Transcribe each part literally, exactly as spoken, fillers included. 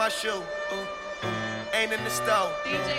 my shoe. Ooh, ooh. Ain't in the stove.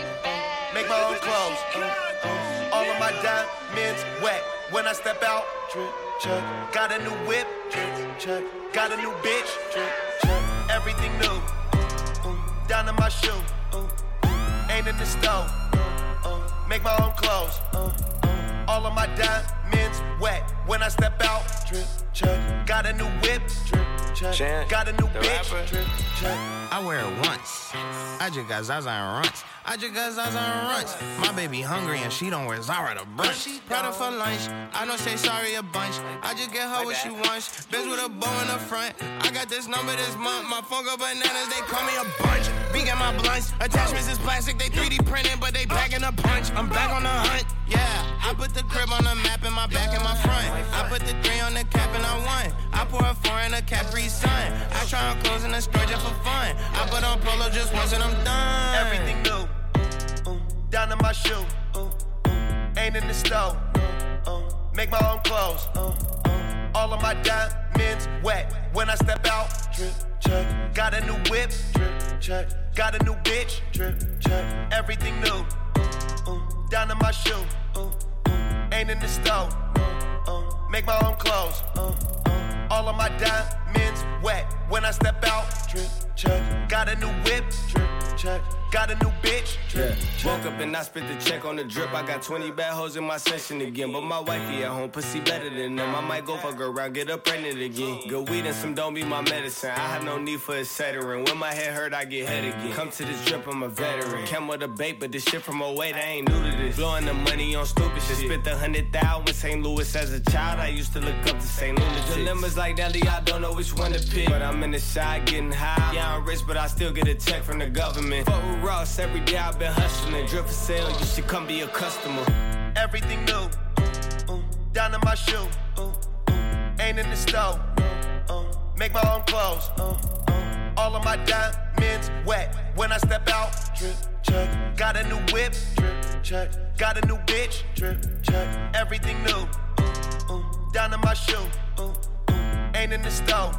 Uh, make my own clothes. Uh, uh, all of my diamonds wet. When I step out, drip, check. Got a new whip, drip, check. Got a new bitch, drip, check. Everything new. Uh, uh, down to my shoe. Uh, uh, ain't in the stove. Uh, uh, make my own clothes. Uh, uh, all of my diamonds wet. When I step out, drip, check. Got a new whip, drip, check. Chant, got a new bitch, drip, check. I wear it once. I just got Zaza and runts. I just got Zaza and runts. My baby hungry and she don't wear Zara to brunch. Prada for lunch. I don't say sorry a bunch. I just get her what she wants. Bitch with a bow in the front. I got this number this month. My phone go bananas. They call me a bunch. Big at my blunts. Attachments is plastic. They three D printed, but they packing a punch. I'm back on the hunt. Yeah, I put the crib on the map in my back and my front. I put the three on the cap and I won. I pour a four in a Capri Sun. I try on clothes in the store just for fun. I put on polo just once and I'm done. Everything new. Down to my shoe, uh, uh, ain't in the stove. Uh, uh, make my own clothes. Uh, uh, all of my diamonds wet. When I step out, drip, check. Got a new whip, drip, check. Got a new bitch, drip, check. Everything new. Uh, uh, down to my shoe, uh, uh, ain't in the stove. Uh, uh, make my own clothes. Uh, uh, all of my diamonds wet. When I step out, drip, check. Got a new whip, drip, check. Got a new bitch, drip, yeah. Woke up and I spent the check on the drip. I got twenty bad hoes in my session again. But my wifey at home, pussy better than them. I might go fuck around, get her pregnant again. Good weed and some don't be my medicine. I have no need for a Cetera. When my head hurt, I get head again. Come to this drip, I'm a veteran. Came with a bait, but this shit from away, they ain't new to this. Blowing the money on stupid shit. Spent the hundred thousand in Saint Louis as a child. I used to look up to Saint Louis. Dilemmas like Nelly, I don't know which one to pick. But I'm in the side getting high. Yeah, I'm rich, but I still get a check from the government. Fuck with Ross every day. I've been hustling, drip for sale, you should come be a customer. Everything new, uh, uh, down to my shoe, uh, uh, ain't in the stove. Uh, uh, make my own clothes. Uh, uh, all of my diamonds wet. When I step out, drip, check. Got a new whip, drip, check. Got a new bitch, drip, check. Everything new, uh, uh, down to my shoe, uh, uh, ain't in the stove.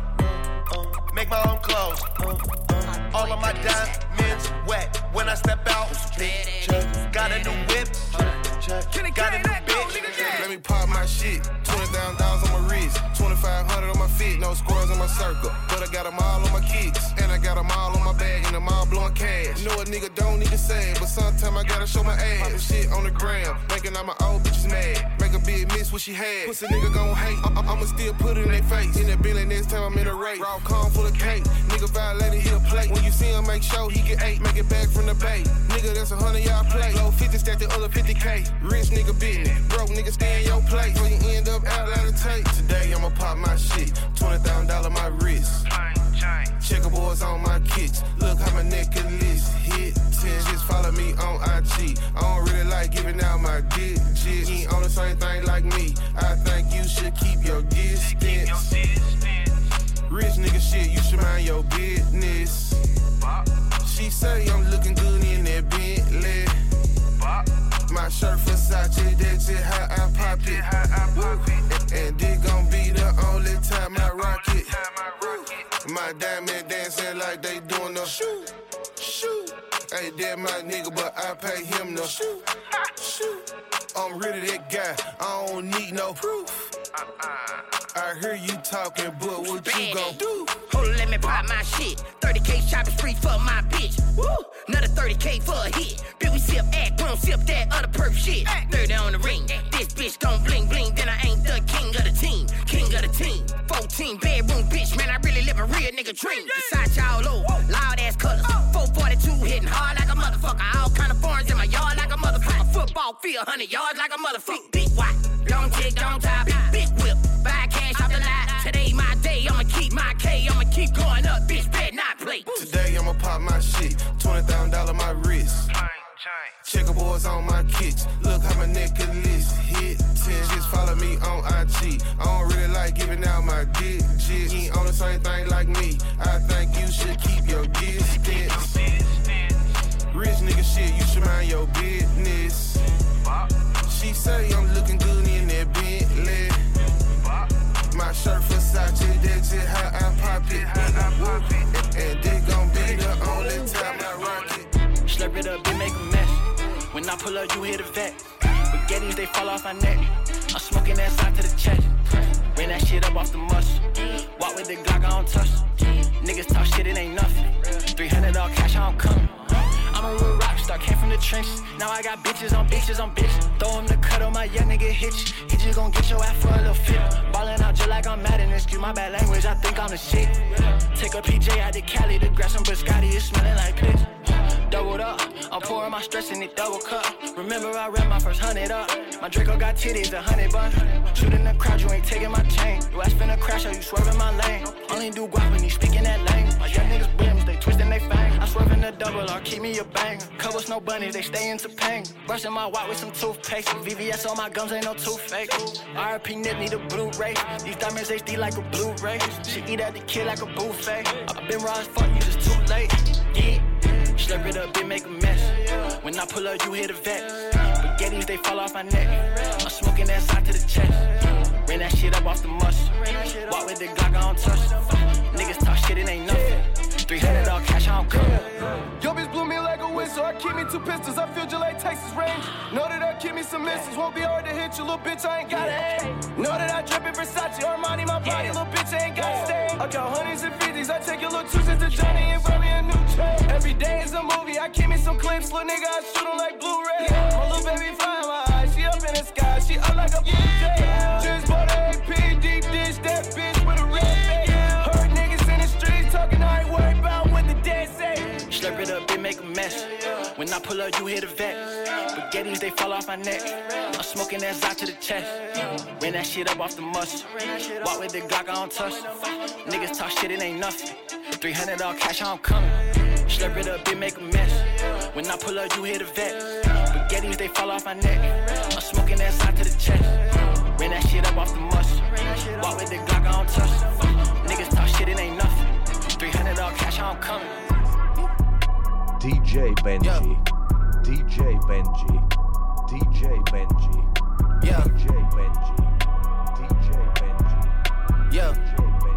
Uh, make my own clothes. Uh, uh, all of my diamonds wet. When I step out, check. Got a new whip, check. Got a new bitch. Let me pop my shit. twenty thousand dollars on my wrist, twenty-five hundred on my feet. No squares in my circle, but I got them all on my kicks. And I got them all on my bag, and them all blowing cash. Know a nigga don't need to say it, but sometime I gotta show my ass. Poppin' shit on the gram, making all my old bitches mad. Make a big miss what she had. Pussy nigga gon' hate, I- I'ma still put it in their face. In that Bentley next time I'm in a race. Raw corn full of cake, nigga violated, he a plate. When you see him, make sure he get eight. Make it back from the bay. Nigga, that's a hundred y'all play. Low fifty, stack the other fifty K. Rich nigga business, broke nigga stay in your place. So you end up out of tape. Today I'ma pop my shit, twenty thousand dollars my wrist. Checkerboards on my kicks, look how my necklace hit ten. Just follow me on I G. I don't really like giving out my digits. You ain't on the same thing like me. I think you should keep your distance. Rich nigga shit, you should mind your business. She say I'm looking good in that Bentley. My shirt Versace, that's just how I pop it. And, and this gon' be the only time I rock it. My diamond dancing like they doing the shoot, shoot. Hey, that my nigga, but I pay him no shoot, shoot. I'm really that guy, I don't need no proof. I hear you talking, but what you gon' do? Hold on, let me pop my shit. thirty K shopping spree for my bitch. Woo! Another thirty K for a hit. Bitch, we sip act, we don't sip that other perp shit. thirty on the ring. This bitch gon' bling bling, then I ain't the king of the team. King of the team. fourteen bedroom bitch, man, I really live a real nigga dream. Besides y'all low, loud ass colors. four forty-two hitting hard like a motherfucker. All kind of foreigns in my yard like a motherfucker. Football field, one hundred yards like a motherfucker. Big white, long tick, long top, big whip. Buy cash off the lot. Today my day, I'ma keep my K. I'ma keep going up, bitch, bet not play. Today I'ma pop my shit, twenty thousand dollars my wrist. Checkerboards on my kicks, look how my necklace hit ten. Just follow me on I G. I don't really like giving out my digits. You ain't on the same thing like me. I think you should keep your distance. Rich nigga shit, you should mind your business. She say I'm looking good in that Bentley. My shirt Versace, that's just how I pop it. And, and this gon' be the only up, bitch, make a mess. When I pull up, you hear the vet. Spaghettis, they fall off my neck. I'm smoking that side to the chest. Ran that shit up off the muscle. Walk with the Glock, I don't touch. Niggas talk shit, it ain't nothing. three hundred all cash, I don't come. I'm a real rock star, came from the trenches. Now I got bitches on bitches on bitches. Throw him the cut on my young nigga hitch. He just gon' get your ass for a little fit. Ballin' out just like I'm mad in this. Excuse my bad language, I think I'm the shit. Take a P J out to Cali to grab some biscotti, it's smelling like piss. Doubled up, I'm pouring my stress in it double cup. Remember I ran my first hundred up. My Draco got titties, a hundred bun. Shooting the crowd, you ain't taking my chain. You ass finna crash or you swerving my lane. Only do guap when you speaking that lane. My young niggas brims, they twisting they fang. I swerve in the double or keep me a bang. Cover snow bunnies, they stay into pain. Brushing my white with some toothpaste. V V S on my gums, ain't no tooth fake. R I P Nip need a Blu-ray. These diamonds H D like a Blu-ray. She eat at the kid like a buffet. I been raw as fuck, you just too late. Yeah. Slurp it up, bitch, make a mess. When I pull up, you hear the vet. Spaghettis, they fall off my neck. I'm smoking that side to the chest. Ran that shit up off the muscle. Walk with the Glock, I don't touch. Niggas talk shit, it ain't nothing. three hundred all cash, I don't come. Yo, bitch blew me like a whistle. I keep me two pistols. I feel just like Texas range. Know that I keep me some misses. Won't be hard to hit you, little bitch. I ain't got it. Know that I drip in Versace, Armani, my body, little bitch. I ain't got to stay. I got hundreds and fifties. I take your little two cents to Johnny and buy me a new chain. Every day is a movie. I keep me some clips, little nigga. I shoot 'em like Blu-ray. My little baby fly in my eyes. She up in the sky. She up like a blue jay. Just bought a A P deep dish. That bitch with a red face. Heard niggas in the streets talking. I ain't worried about what the dead say. Slurp it up, bitch, make a mess. When I pull up, you hear the vet. Spaghettis, they fall off my neck. I'm smoking that Zod to the chest. Ran that shit up off the muscle. Walk with the Glock, I don't touch. Niggas talk shit, it ain't nothing. three hundred all cash, I don't come. Slurp it up, bitch, make a mess. When I pull up, you hear the vet. Spaghettis, they fall off my neck. I'm smoking that Zod to the chest. Ran that shit up off the muscle. Walk with the Glock, I don't touch. Niggas talk shit, it ain't nothing. three hundred all cash, I don't come. D J Benji, yeah. D J Benji, D J Benji, yeah. D J Benji, D J Benji, yeah. D J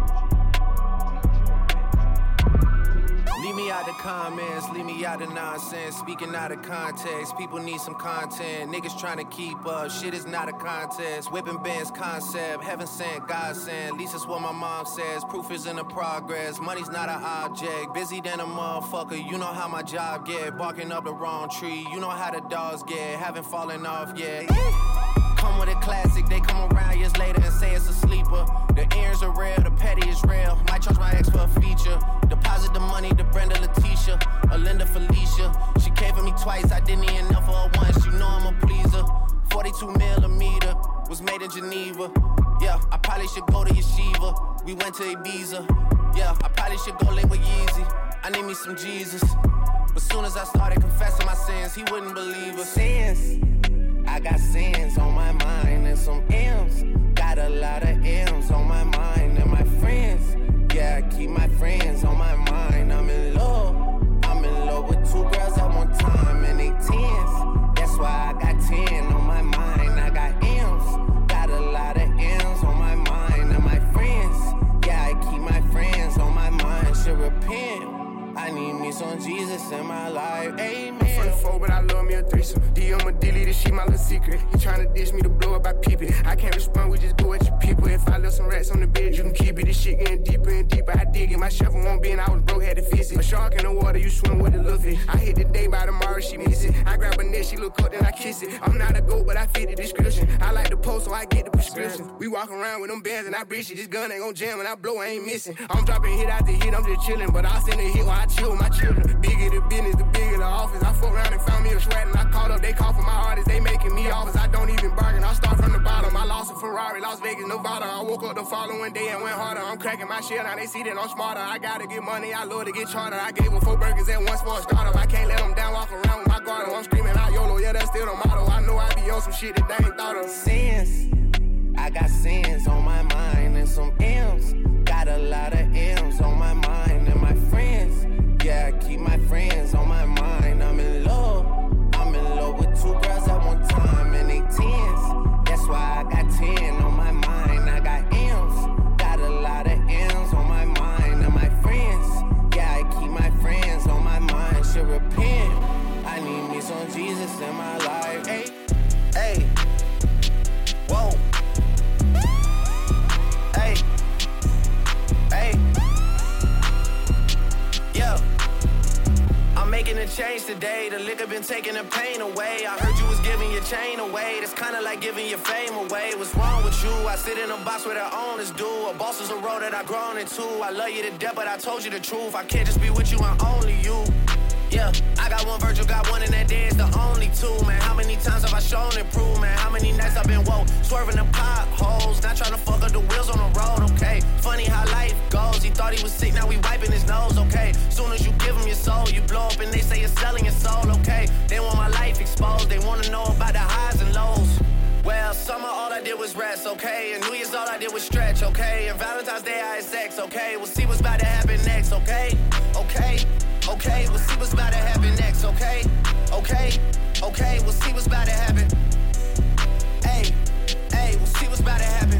Leave me out the comments, leave me out the nonsense. Speaking out of context, people need some content. Niggas trying to keep up, shit is not a contest. Whipping bands concept, heaven sent, God sent. At least that's what my mom says, proof is in the progress. Money's not an object, busy than a motherfucker. You know how my job get, barking up the wrong tree. You know how the dogs get, haven't fallen off yet. Come with a classic, they come around years later and say it's a sleeper. The earrings are real, the petty is real. Might charge my ex for a feature. Deposit the money to Brenda Letitia or Linda Felicia. She came for me twice, I didn't even know for her once. You know I'm a pleaser. forty-two millimeter was made in Geneva. Yeah, I probably should go to Yeshiva. We went to Ibiza. Yeah, I probably should go link with Yeezy. I need me some Jesus. But soon as I started confessing my sins, he wouldn't believe us. Sins. I got sins on my mind and some M's. Got a lot of M's on my mind and my friends. Yeah, I keep my friends on my mind. I'm in love. I'm in love with two girls at one time and they tens. That's why I got ten on my mind. I got M's. Got a lot of M's on my mind and my friends. Yeah, I keep my friends on my mind. Should repent. I need me some Jesus in my life. Amen. I'm from the four, but I love me a threesome. D M a dilly, this shit my little secret. He tryna dish me to blow up, I peep it. I can't respond, we just go at your people. If I left some rats on the bed, you can keep it. This shit getting deeper and deeper. I dig it. My shovel won't be, and I was broke, had to fix it. A shark in the water, you swim with the little fish. I hit the day by tomorrow, she miss it. I grab her neck, she look up, then I kiss it. I'm not a goat, but I fit the description. I like the post, so I get the prescription. We walk around with them bands, and I breach it. This gun ain't gon' jam, and I blow, I ain't missing. I'm dropping hit after hit, I'm just chillin'. But I'll send a hit while I chill with my children. Bigger the business, the bigger the office. I fuck around and found me a sweat, and I called up, they call for my artists, they making me offers. I don't even bargain, I start from the bottom. I lost a Ferrari, Las Vegas, Nevada. I woke up the following day and went harder. I'm cracking my shit, now they see that I'm smarter. I gotta get money, I love to get charter. I gave her four burgers at once for a startup. I can't let them down, walk around with my guard. I'm screaming out YOLO, yeah, that's still the motto. I know I be on some shit that they ain't thought of. Sins, I got sins on my mind and some M's. Got a lot of M's on my mind and my friends. Yeah, I keep my friends on my mind. I'm in love. I'm in love with two girls at one time and they tens. That's why I got ten on my mind. I got M's. Got a lot of M's on my mind and my friends. Yeah, I keep my friends on my mind. Should repent. I need on Jesus in my life. Hey, hey, whoa. Hey, hey, yeah. I'm making a change today. The liquor been taking the pain away. I heard you was giving your chain away. That's kinda like giving your fame away. What's wrong with you? I sit in a box where the owners do. A boss is a road that I grown into. I love you to death, but I told you the truth. I can't just be with you and only you. Yeah, I got one Virgil, got one, and that day is the only two, man. How many times have I shown and proved, man? How many nights I've been woke, swerving the potholes, not trying to fuck up the wheels on the road, okay? Funny how life goes. He thought he was sick, now we wiping his nose, okay? Soon as you give him your soul, you blow up and they say you're selling your soul, okay? They want my life exposed, they wanna know about the highs and lows. Well, summer all I did was rest, okay? And New Year's all I did was stretch, okay? And Valentine's Day I had sex, okay? We'll see what's about to happen next, okay? Okay, okay, we'll see what's about to happen next, okay? Okay, okay, we'll see what's about to happen. Hey, hey, we'll see what's about to happen.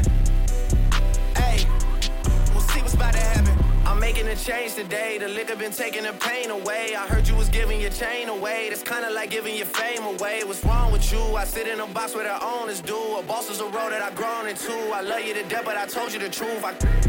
Hey, we'll see what's about to happen. I'm making a change today. The liquor been taking the pain away. I heard you was giving your chain away. That's kinda like giving your fame away. What's wrong with you? I sit in a box where the owners do. A boss is a road that I grown into. I love you to death, but I told you the truth. I...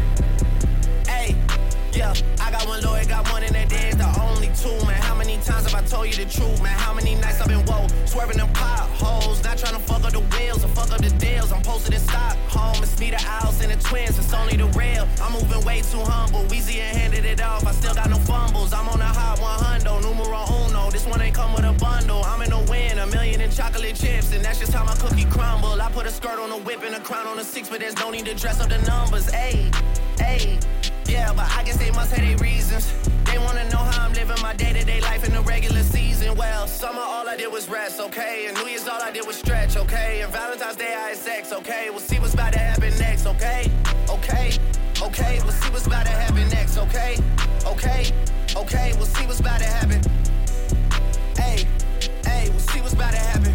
Hey, yeah, I got one lawyer, got one, and that day is the only two, man. How many times have I told you the truth, man? How many nights I've been woke, swerving them potholes, not trying to fuck up the wheels or fuck up the deals. I'm posted in Stockholm, it's me, the Owls, and the twins, it's only the real. I'm moving way too humble, Weezy and handed it off, I still got no fumbles. I'm on a hot one hundred, numero uno, this one ain't come with a bundle. I'm in the win, a million in chocolate chips, and that's just how my cookie crumble. I put a skirt on a whip and a crown on a six, but there's no need to dress up the numbers, ayy, ayy. Yeah, but I guess they must have their reasons. They wanna know how I'm living my day-to-day life in the regular season. Well, summer all I did was rest, okay? And New Year's all I did was stretch, okay? And Valentine's Day I had sex, okay? We'll see what's about to happen next, okay? Okay, okay, we'll see what's about to happen next, okay? Okay, okay, we'll see what's about to happen. Hey, hey, we'll see what's about to happen.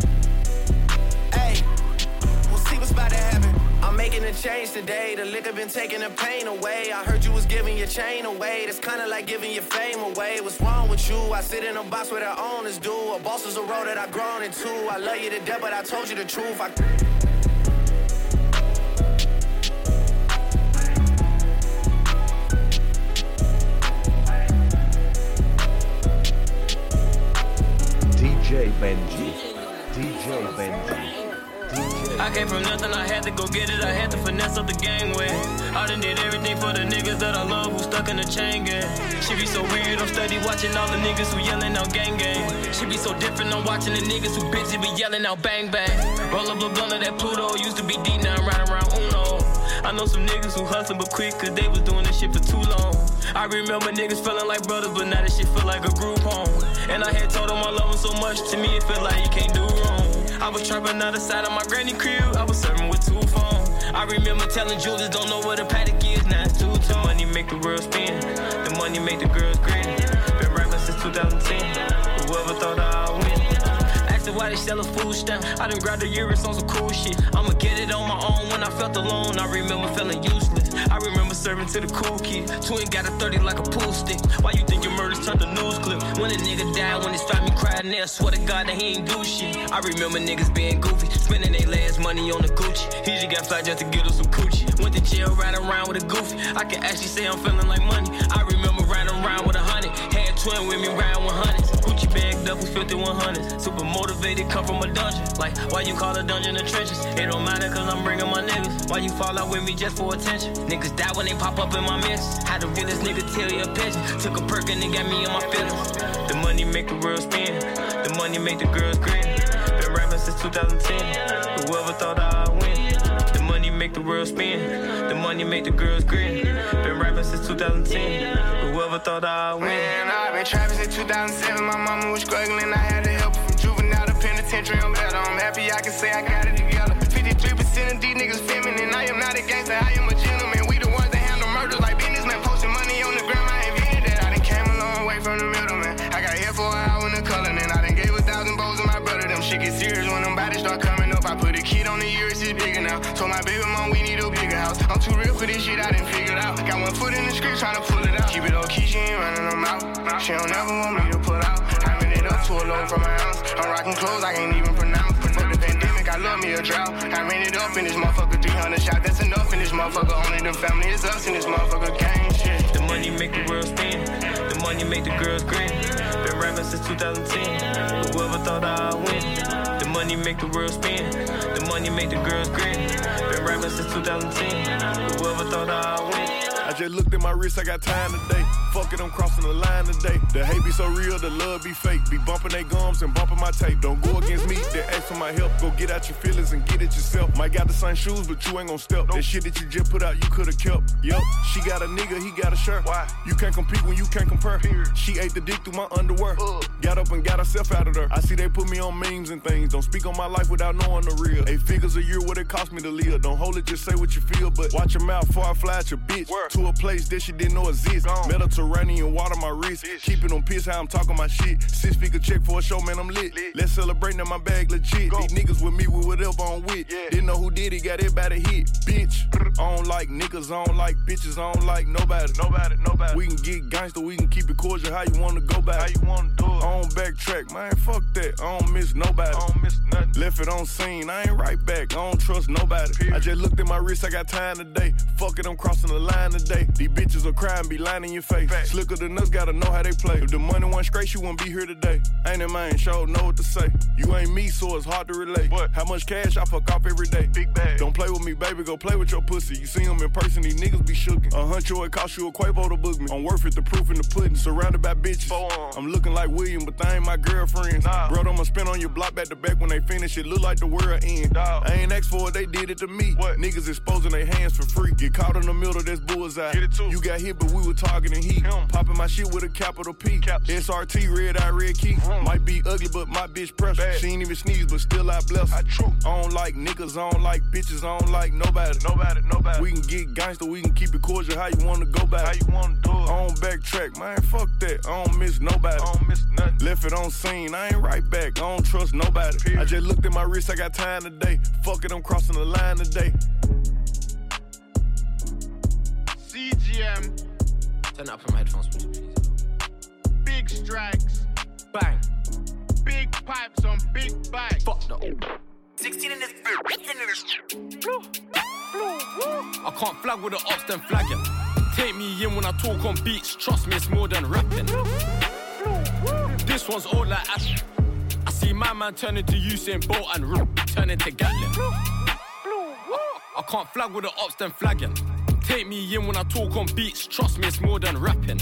Hey, we'll see what's about to happen. I'm making a change today. The liquor been taking the pain away. I heard you was giving your chain away. That's kinda like giving your fame away. What's wrong with you? I sit in a box where the owners do. A boss is a road that I grown into. I love you to death, but I told you the truth. I... D J Benji, D J Benji. I came from nothing, I had to go get it. I had to finesse up the gangway. I done did everything for the niggas that I love who stuck in the chain gang. She be so weird, I'm steady watching all the niggas who yelling out gang gang. She be so different, I'm watching the niggas who bitchy be yelling out bang bang. Roll up the blunt of that Pluto, used to be D nine riding around Uno. I know some niggas who hustle but quick cause they was doing this shit for too long. I remember niggas feeling like brothers, but now this shit feel like a group home. And I had told them I love them so much, to me it feel like you can't do wrong. I was trapping out the side of my granny crib, I was serving with two phones. I remember telling Julius, don't know what a paddock is, now it's two tone. Money make the world spin, the money make the girls grin. Been rapping since two thousand ten, whoever thought I'd win. Asking why they sell a food stamp, I done grabbed the Urus on some cool shit. I'ma get it on my own when I felt alone, I remember feeling useless. I remember serving to the cool kid, twin got a thirty like a pool stick. Why you think your murders turned to news clip? When a nigga died, when his family cried, and they swear to God that he ain't do shit. I remember niggas being goofy, spending their last money on the Gucci. He just got fly just to get us some coochie. Went to jail riding around with a goofy, I can actually say I'm feeling like money. I remember riding around with a hundred, had twin with me riding with hundreds. Gucci bagged up with fifty one hundreds, super motivated, come from a dungeon. Like, why you call a dungeon the trenches? It don't matter cause I'm bringing my niggas. Why you fall out with me just for attention? Niggas die when they pop up in my mix. How the realest nigga tell you a pigeon? Took a perk and they got me in my feelings. The money make the world spin, the money make the girls grin. Been rapping since two thousand ten, whoever thought I'd win. The money make the world spin, the money make the girls grin. Been rapping since two thousand ten, whoever thought I'd win. Man, I've been trapping since two thousand seven, my mama was struggling, I had to help her from juvenile to penitentiary. I'm better, I'm happy I can say I got it together. fifty-three percent of these niggas feminine, I am not a gangster, I am a gentleman. We the ones that handle murders like businessmen, posting money on the gram, I invented that. I done came a long way from the middleman. I got here for an hour in the color, and I done gave a thousand bows to my brother. Them shit get serious when them bodies start coming up. I put a kid on the Urus, it's bigger now. Told my baby mom we need a bigger house. I'm too real for this shit, I done figured out. Got one foot in the script, trying to pull it out. Keep it low key, she ain't running them out. She don't ever want me to pull out. I ran it up pull over from my house. I'm rocking clothes I can't even pronounce. Fuck the pandemic, I love me a drought. I ran it up in this motherfucker, three hundred shots, that's enough in this motherfucker. Only the family is us in this motherfucker gang shit. The money make the world spin, the money make the girls grin. Been rapping since two thousand ten, whoever thought I'd win. The money make the world spin, the money make the girls grin. Been rapping since two thousand ten, whoever thought I'd win. I just looked at my wrist, I got time today. Fuck it, I'm crossing the line today. The hate be so real, the love be fake. Be bumping they gums and bumping my tape. Don't go against me, they ask for my help. Go get out your feelings and get it yourself. Might got the same shoes, but you ain't gon' step. That shit that you just put out, you could've kept. Yup, she got a nigga, he got a shirt. Why? You can't compete when you can't compare. Period. She ate the dick through my underwear. Uh. Got up and got herself out of there. I see they put me on memes and things. Don't speak on my life without knowing the real. Eight figures a year, what it cost me to live. Don't hold it, just say what you feel. But watch your mouth before I fly at your bitch. Where? To a place that she didn't know exist. Gone. Mediterranean water my wrist. Ish. Keeping on piss how I'm talking my shit. Six figure check for a show, man, I'm lit. lit. Let's celebrate now, my bag legit. Go. These niggas with me with whatever I'm with. Yeah. Didn't know who did it, got everybody hit. Bitch, I don't like niggas, I don't like bitches, I don't like nobody. Nobody, nobody. We can get gangster, we can keep it cordial. How you wanna go back? How you wanna do it? I don't backtrack, man, fuck that. I don't miss nobody. I don't miss nothing. Left it on scene, I ain't right back. I don't trust nobody. Period. I just looked at my wrist, I got time today. Fuck it, I'm crossing the line today. These bitches will cry and be lying in your face. Fact. Slicker than us, gotta know how they play. If the money wasn't straight, you wouldn't be here today. Ain't it, man? Sure know what to say. You ain't me, so it's hard to relate. What? How much cash I fuck off every day? Big bag. Don't play with me, baby, go play with your pussy. You see them in person, these niggas be shookin'. A huncho, it cost you a Quavo to book me. I'm worth it, the proof in the pudding. Surrounded by bitches. I'm looking like William, but they ain't my girlfriends. Nah. Bro, I'ma spin on your block back to back when they finish. It look like the world end. Dog. I ain't asked for it, they did it to me. What? Niggas exposing their hands for free. Get caught in the middle, that's bullseye. Get it too. You got hit, but we were targeting heat. Him. Popping my shit with a capital P. Caps. S R T, red eye, red key. Mm. Might be ugly, but my bitch pressure. She ain't even sneeze, but still I bless her. I, true. I don't like niggas, I don't like bitches, I don't like nobody. Nobody, nobody. We can get gangster, we can keep it cordial. How you wanna go back? How you wanna do it? I don't backtrack, man, fuck that. I don't miss nobody. I don't miss nothing. Left it on scene, I ain't right back. I don't trust nobody. Period. I just looked at my wrist, I got time today. Fuck it, I'm crossing the line today. C G M. Turn up from my headphones, please. Big strikes. Bang. Big pipes on big bikes. Fuck the sixteen in this. I can't flag with the ops, then flagging. Take me in when I talk on beats. Trust me, it's more than rapping. This one's all like Ash. I see my man turn into Usain Bolt and r- turn into Gatlin. I can't flag with the ops, then flagging. Take me in when I talk on beats. Trust me, it's more than rapping.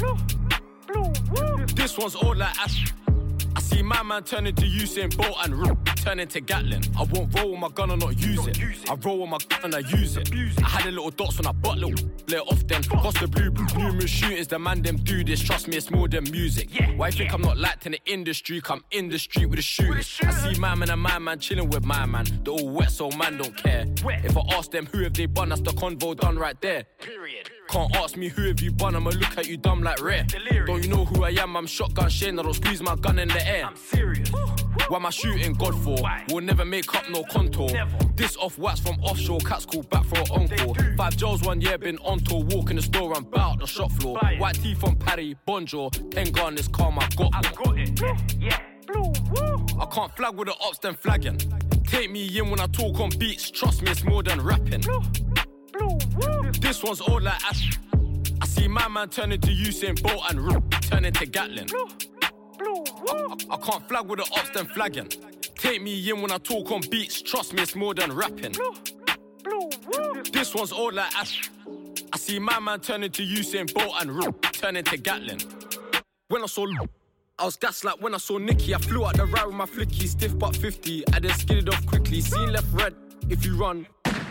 This one's all like Ash. I see my man turn into Usain Bolt and r- turn into Gatlin. I won't roll with my gun and not use it. I roll with my gun and I use it. I had a little dots when I butt little let off then. Cost the blue, numerous shootings, the man them do this. Trust me, it's more than music. Why you think I'm not liked in the industry? Come in the street with a shooter. I see my man and my man chilling with my man. They're all wet, so man don't care. If I ask them who have they bun, that's the convo done right there. Period. Can't ask me who have you bun, I'ma look at you dumb like rare. Delirious. Don't you know who I am? I'm shotgun Shane, I don't squeeze my gun in the air. I'm serious. Why am I shooting God for? Why? We'll never make up no contour. Never. This off wax from offshore, cats call back for an encore. Five Joes one year, been on tour, walk in the store and bout the shop floor. White teeth on Paddy, Bonjour, ten gun is calm, I got I got it, yeah, yeah. Blue, woo. I can't flag with the ops, then flagging. Take me in when I talk on beats, trust me, it's more than rapping. Blue. Blue, woo. This one's all like Ash. I see my man turn into Usain Bolt and r- turn into Gatlin. Blue. Blue, I, I, I can't flag with the ops, then flagging. Take me in when I talk on beats, trust me, it's more than rapping. Blue. Blue, woo. This one's all like Ash. I see my man turn into Usain Bolt and r- turn into Gatlin. When I saw I was gassed like when I saw Nicky. I flew out the ride with my flicky, stiff but fifty. I then skidded off quickly. Seen left red if you run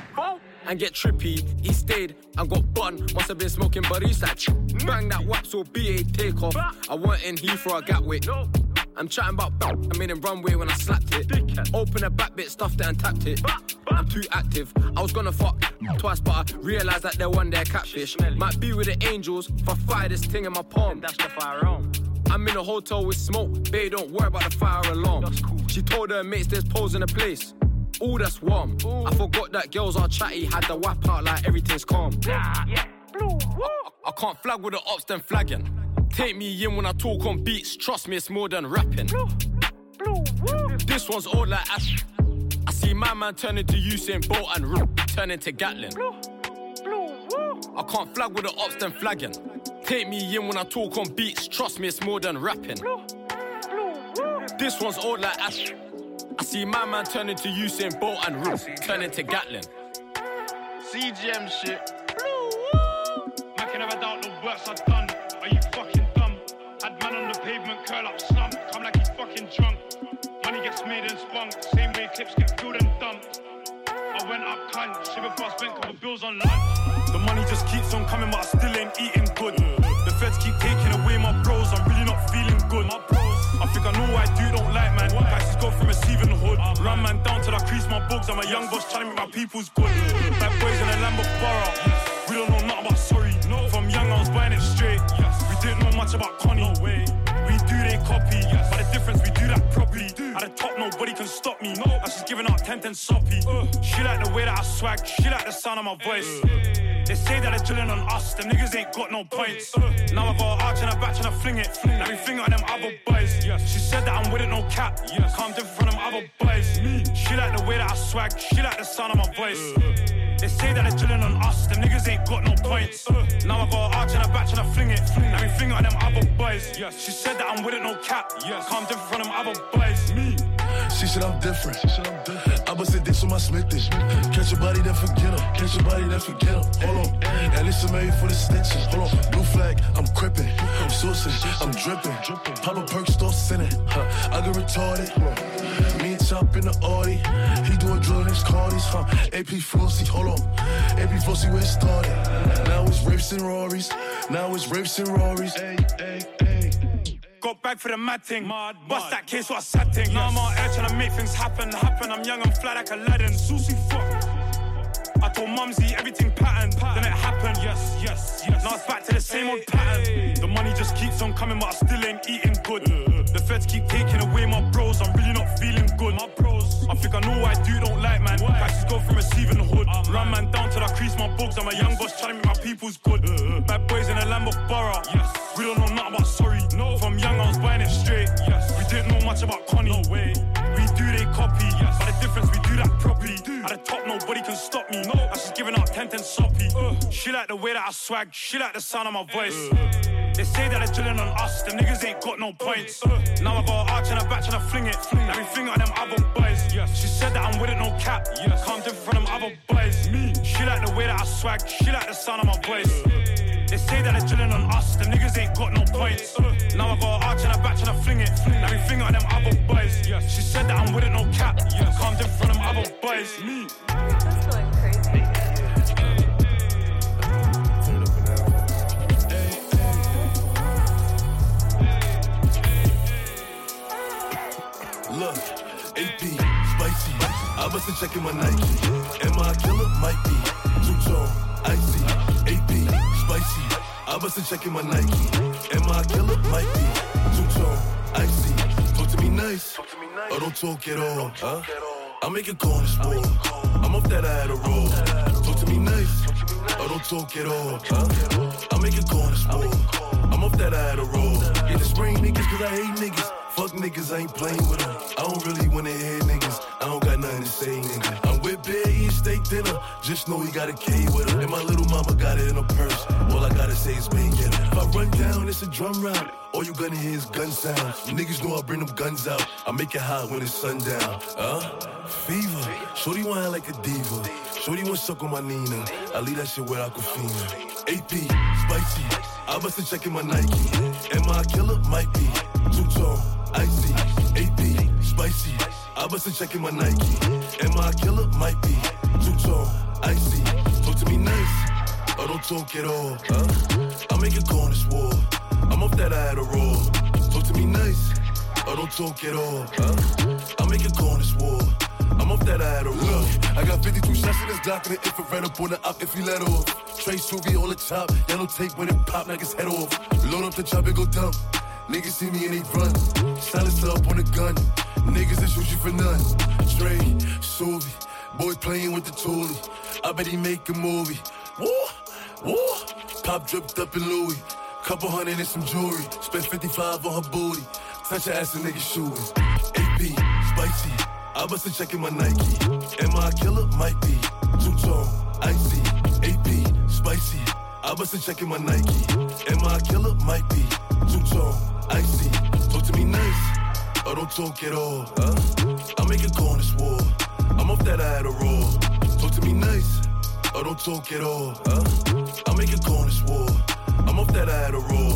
and get trippy. He stayed and got bun. Must have been smoking buddies like bang that whap so B A take off. I weren't in Heathrow or Gatwick. I'm chatting about I made him runway when I slapped it. Open a back bit, stuffed it and tapped it. I'm too active. I was gonna fuck twice, but I realised that they're one there catfish. Might be with the angels if I fire this thing in my palm. That's the firearm. I'm in a hotel with smoke. Babe, don't worry about the fire alarm. Cool. She told her mates there's poles in the place. Ooh, that's warm. Ooh. I forgot that girls are chatty. Had the whap out like everything's calm. Yeah, yeah. Blue, I, I can't flag with the ops, then flagging. Take me in when I talk on beats. Trust me, it's more than rapping. Blue. This one's all like Ash. I see my man turn into Usain Bolt and R- turn into Gatlin. I can't flag with the ops, then flagging. Take me in when I talk on beats, trust me, it's more than rapping. This one's all like Ash. I see my man turn into Usain Bolt and R- turn into Gatlin. C G M shit. I can never doubt the works I've done. Are you fucking dumb? Had man on the pavement, curl up, slump, come like he's fucking drunk. Money gets made and spunk, same way clips get filled and dumped. I went up cunt, shit before I spent couple bills on lunch. The money just keeps on coming, but I still ain't eating good. The feds keep taking away my bros, I'm really not feeling good. My bros, I think I know why dude don't like man. Guys go from receiving the hood, run man down till I crease my bugs. I'm a young boss trying to make my people's good. Bad boys in a Lambo Borough, we don't know nothing about sorry. From young I was buying it straight. We didn't know much about Connie. We do they copy, but the difference we do that properly. At the top nobody can stop me. That's just giving out ten ten soppy. She like the way that I swag, she like the sound of my voice. They say that they're drilling on us, them niggas ain't got no points. Now I got an arch and a batch and I fling it. Let me fling it on them other boys. She said that I'm with it, no cap. Come different from them other boys. She like the way that I swag, she like the sound of my voice. They say that they're drilling on us, them niggas ain't got no points. Now I got an arch and a batch and I fling it. Let me fling it on them other boys. She said that I'm with it, no cap. Come different from them other boys. Me. She said I'm different. I bust a dick on my Smithy. Catch your body, then forget him. Catch your body, then forget him. Hold on. And listen, Mary for the stitches. Hold on. Blue flag, I'm crippin'. I'm saucing, I'm drippin'. Pop a perk, start sinning. Huh. I get retarded. Me and Chop in the Audi. He doing drill in his Cardis. Huh. A P Flossie, hold on. A P Flossie where it started. Now it's Riffs and Rorys. Now it's Riffs and Rorys. Hey, hey, hey. Got back for the mad thing. Mad, Bust mad. That case, what a sad thing. Yes. Now I'm out here trying to make things happen. Happen, I'm young, I'm fly like Aladdin. Susie, fuck. I told Mumsy everything patterned. Pattern. Then it happened. Yes, yes, yes. Now it's back to the same hey, old pattern. Hey. The money just keeps on coming, but I still ain't eating good. Uh, the feds keep taking away my bros. I'm really not feeling good. My bros. I think I know why dude don't like man. Prices go from receiving the hood. Um, Run man down till I crease my bugs. I'm a young boss trying to make my people's good. Uh, Bad boys in a Lambo Borough. Yes. We don't know nothing about sorry. No. From young I was buying it straight. Yes. We didn't know much about Connie. No way. We do they copy. Yes. But the difference we do that properly. Do. At the top nobody can stop me. No. That's just giving out ten ten soppy. Uh. She like the way that I swag. She like the sound of my voice. Uh. They say that they're drilling on us. Them niggas ain't got no points. Uh. Now I got an arch and a batch and I fling it. Fling. Let me fling it on them other boys. Yes. She said that I'm with it, no cap. Yes. Come different from them other boys. Me. She like the way that I swag. She like the sound of my voice. Uh. They say that they're drilling on us, them niggas ain't got no points. Uh, now I got an arch and a batch and I fling it. Fling. Let me fling it on them other boys. Yes. She said that I'm with it, no cap. Yes. Come different from them other boys. Me. That's going crazy. Look, A P, spicy. I wasn't checking my Nike. Am I a killer? Might be. Two-tone, icy. A P, spicy. I wasn't checking my Nike. Am I a killer? Might be. Two-tone, icy. Talk to me nice. Or don't talk at all. Huh? I make a corner sport. I'm off that I had a roll. Talk to me nice. Or don't talk at all. Huh? I make a corner sport. I'm off that I had a roll. Yeah, the spring niggas cause I hate niggas. Fuck niggas, I ain't playing with them. I don't really wanna hear niggas. I don't got nothing to say, nigga. I'm with Bear eating steak dinner. Just know he got a K with her. And my little mama got it in her purse. All I gotta say is bang it. If I run down, it's a drum round. All you gonna hear is gun sound. Niggas know I bring them guns out. I make it hot when it's sundown. Huh? Fever. Shorty want her like a diva. Shorty want suck on my Nina. I leave that shit where Aquafina. A P, spicy. I wasn't checking my Nike. Am I a killer? Might be. Two-tone, icy. A P, spicy. I wasn't checking my Nike. Am I a killer? Might be. Two-tone, icy. Talk to me nice. Or don't talk at all. Huh? I make a corner swore. I'm off that I had a roll. Talk to me nice. Or don't talk at all. Huh? I make a corner swore. I'm off that I had a roll. I got fifty-two shots in this Glock and an infrared up on the op if he let off. Trey Suvi on the top, yellow tape when it pop, knock his head off. Load up the chop and go dump. Niggas see me and they run. Silence up on the gun. Niggas that shoot you for none. Trey Suvi, boy playing with the toolie. I bet he make a movie. Woo, woo. Pop dripped up in Louis. Couple hundred and some jewelry. Spent fifty-five on her booty. Touch her ass and niggas shooting. A P, spicy. I bustin' checking my Nike. Am I a killer? Might be. Two-tone, icy, A P, spicy. I bustin' checking my Nike. Am I a killer? Might be. Two-tone, icy. Talk to me nice, or don't talk at all. Huh? I make a call on this war. I'm off that I had a roll. Talk to me nice, or don't talk at all. Huh? I make a call on this war. I'm off that I had a roll.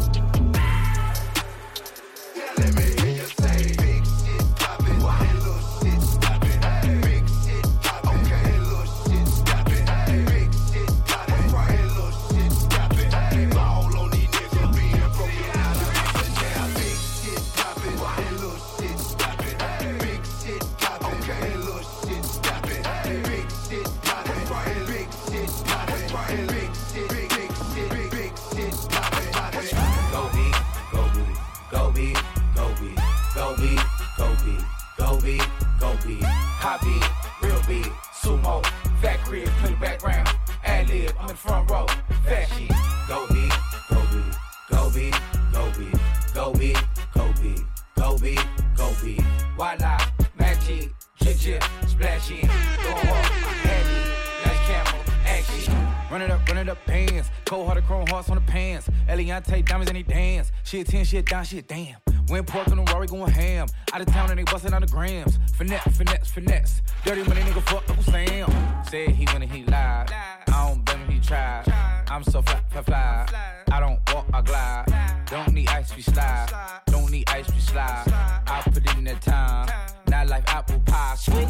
Let me hear you say big shit poppin', and little shit stoppin'. Big shit poppin', okay, and little shit stoppin'. Big shit poppin', and little shit stoppin'. Ball on these niggas being broken out of yeah. Big shit poppin', and little shit stoppin'. Big shit poppin', okay, and little shit stoppin'. Big shit poppin', and big shit poppin', and big shit, big big shit, big big shit poppin', poppin'. Go big, go big, go big. Go big, go big, go big, go big, go big. Hot big, real big, sumo, fat crib, play the background. Ad lib, I'm in the front row. Fat shit. Go big, go big, go big, go big, go big, go big, go big, go big. Voila, magic, chip chip, splash in. Go hard, heavy, like camel, action. Run it up, run it up, bands. Cold hearted chrome hearts on the pants. Eliante diamonds and they dance. Shit ten, shit down, shit damn. Went pork on the Rory going ham. Out of town and they bustin' on the grams. Finesse, finesse, finesse. Dirty money nigga fuck Uncle Sam. Said he went and he lied. I don't blame him, he tried. I'm so fly, fly, fly. I don't walk, I glide. Don't need ice, we slide. Don't need ice, we slide. I put it in that time. Not like apple pie, sweet.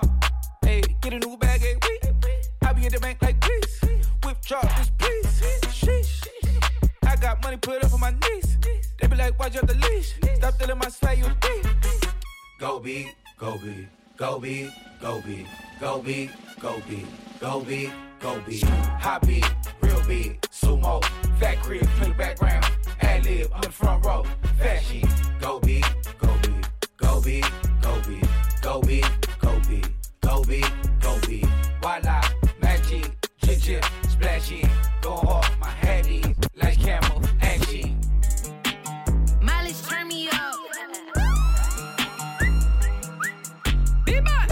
Hey, get a new bag, hey, we. I be at the bank like please. Whip drop this please. Sheesh. I got money put up on my knees. They be like, why'd you have the leash? Stop stealing my swag, you deep. Go big, go big, go big, go big, go big, go big, go big, go big. Hot big, real big, sumo, fat crib, play the background. Ad lib, I'm in the front row. Fat shit. Go big, go big, go big, go big, go big, go big, go big, go big. Voila, magic, chip chip, splash in. Go hard, my heavy, like camel, action. Mileage turn me up. B-boy.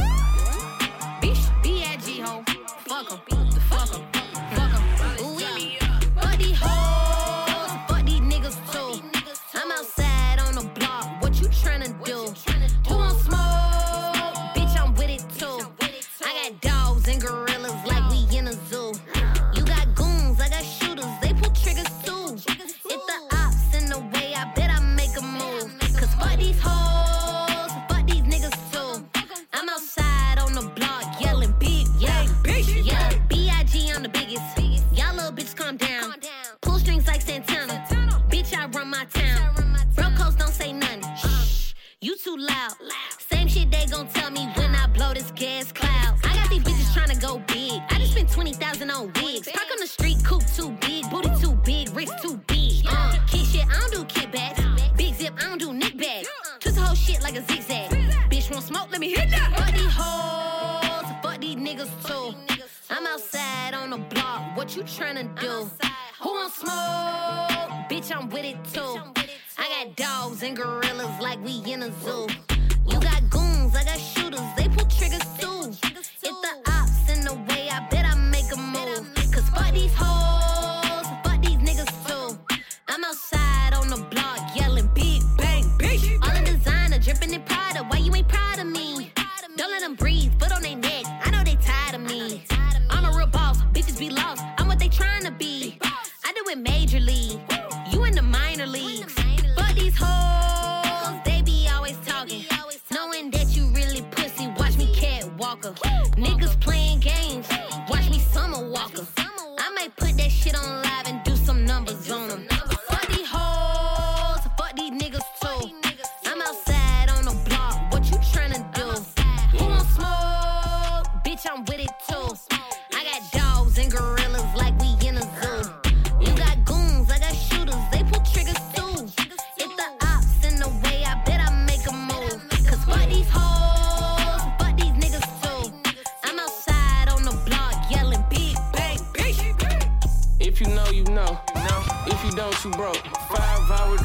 Bitch, B I G ho. Fuck em, fuck em, fuck em. Ooh, yeah. Fuck these hoes, fuck these niggas too. I'm outside on the block, what you tryna do? Who want smoke? Bitch, I'm with it too. I got dogs and gorillas like we in a zoo. You got goons, I got shooters, they pull triggers too. If the ops in the way, I bet I make a move. Cause fuck these hoes, fuck these niggas too. I'm outside on the block yelling big, yeah. Yeah, B I G, I'm the biggest. Y'all little bitches calm down. Pull strings like Santana. Bitch, I run my town. Bro codes don't say nothing. Shh, you too loud. Same shit they gon' tell me when I blow this gas cloud. I got these bitches tryna go big. I just spent twenty thousand on wigs. Park on the street, coupe too big. Booty too big, wrist too big. Uh, kid shit, I don't do kickbacks. Big zip, I don't do nick bags. Twist the whole shit like a zigzag. Bitch want smoke, let me hit that. Fuck these hoes, fuck these niggas too. I'm outside on the block, what you tryna do? Who want smoke? Bitch, I'm with it too. I got dogs and gorillas like we in a zoo. You got goons, I got shooters, they pull triggers too. If the ops in the way, I bet I make a move. Cause fuck these hoes, fuck these niggas too. I'm outside on the block yelling big bang, bitch. All in designer, dripping in Prada, why you ain't proud of me? Don't let them breathe, foot on their neck, I know they tired of me. I'm a real boss, bitches be lost, I'm what they trying to be. I do it major league, you in the minor leagues. Fuck these hoes, they be always talking. Knowing that you really pussy, watch me catwalker. Niggas playing games, watch me Summer Walker. I might put that shit on live and do some numbers on them. Fuck these hoes, fuck these niggas too. I'm outside on the block, what you tryna do? Who want smoke? Bitch, I'm with it too. I got dogs and gorillas like we in a zoo. You got goons, I got shooters, they pull triggers too. If the ops in the way, I bet I make a move. Cause fuck these hoes, fuck these niggas too. I'm outside on the block yelling big bang, bitch. If you know, you know. If you don't, you broke. Five hour drive to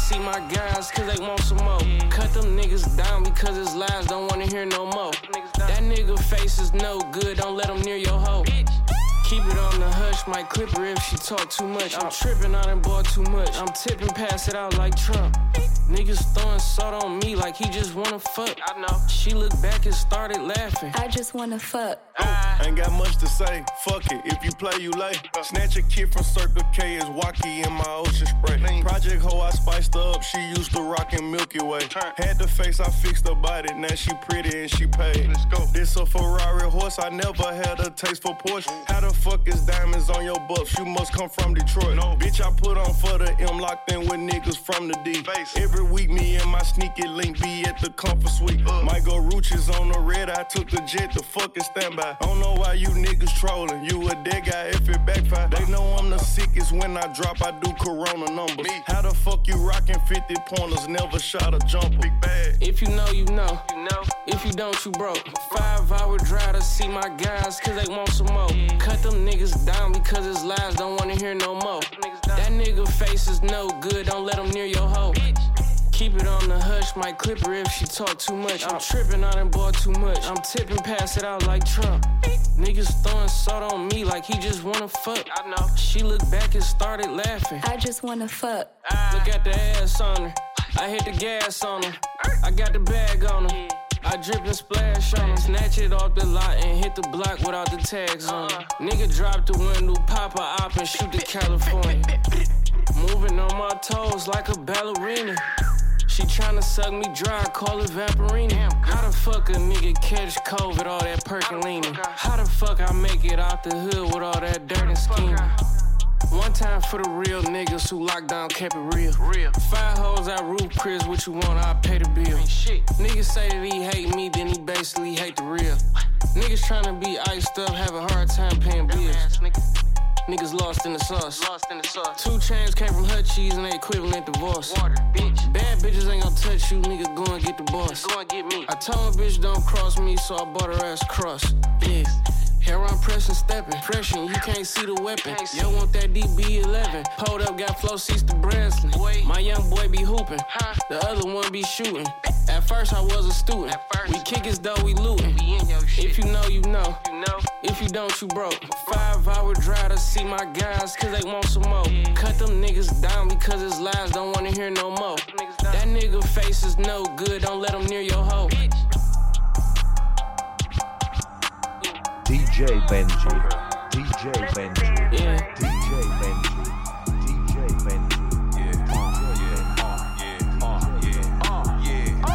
see my guys, cause they want some more. Cut them niggas down because his lies don't wanna hear no more. That nigga face is no good, don't let him near your hoe. Keep it on the hush, might clip her if she talk too much. I'm tripping, I done bought too much. I'm tipping, pass it out like Trump. Niggas throwing salt on me like he just wanna fuck. I know. She looked back and started laughing. I just wanna fuck. Oh, ain't got much to say. Fuck it, if you play, you lay. Snatch a kid from Circle K is Wacky in my ocean spray. Project hoe, I spiced her up. She used to rockin' Milky Way. Had the face, I fixed her body. Now she pretty and she paid. Let's go. This a Ferrari horse. I never had a taste for Porsche. How the fuck is diamonds on your buffs? You must come from Detroit. No. Bitch, I put on for the M, locked in with niggas from the D. Face. Every week, me and my sneaky link be at the comfort suite. Uh. Might go Rooches on the red. I took the jet, the fucking standby. I don't know why you niggas trolling. You a dead guy if it backfire. They know I'm the sickest when I drop. I do Corona numbers. Me. How the fuck you rockin' fifty pointers? Never shot a jumper. Big bag. If you know, you know. You know. If you don't, you broke. Five hour drive to see my guys, cause they want some more. Cut them niggas down because his lies don't wanna hear no more. That nigga face is no good, don't let him near your hoe. Keep it on the hush, might clip her if she talk too much. I'm tripping, I done bought too much. I'm tipping, pass it out like Trump. Niggas throwing salt on me like he just wanna fuck. I know. She looked back and started laughing. I just wanna fuck. Look at the ass on her. I hit the gas on her. I got the bag on her. I drip and splash on him, snatch it off the lot and hit the block without the tags on him. Nigga drop the window, pop a op and shoot to California. Moving on my toes like a ballerina. She tryna suck me dry, call it Vaporina. How the fuck a nigga catch COVID, all that Percolina? How the fuck I make it out the hood with all that dirt and scheming? One time for the real niggas who locked down, kept it real. real. Five hoes at Roof Chris, what you want, I pay the bill. Shit. Niggas say that he hate me, then he basically hate the real. Niggas tryna be iced up, have a hard time paying bills. Niggas lost in the sauce. Lost in the sauce. Two chains came from Hut Cheese and they equivalent divorce. Water, bitch. Bad bitches ain't gon' touch you, nigga. Go and get the boss. Go and get me. I told my bitch don't cross me, so I bought her ass cross. Yeah. Hair on pressing, stepping, pressing, you can't see the weapon. Yo, want that D B eleven. Pulled up, got flow seats to Breslin. My young boy be hooping, the other one be shooting. At first, I was a student. We kick as though we looting. If you know, you know. If you don't, you broke. Five hour drive to see my guys, cause they want some more. Cut them niggas down because his lies don't wanna hear no more. That nigga face is no good, don't let him near your hoe. D J Benji, D J Benji, yeah. D J Benji, D J Benji, yeah, uh, yeah, uh, yeah, uh, yeah, uh, yeah.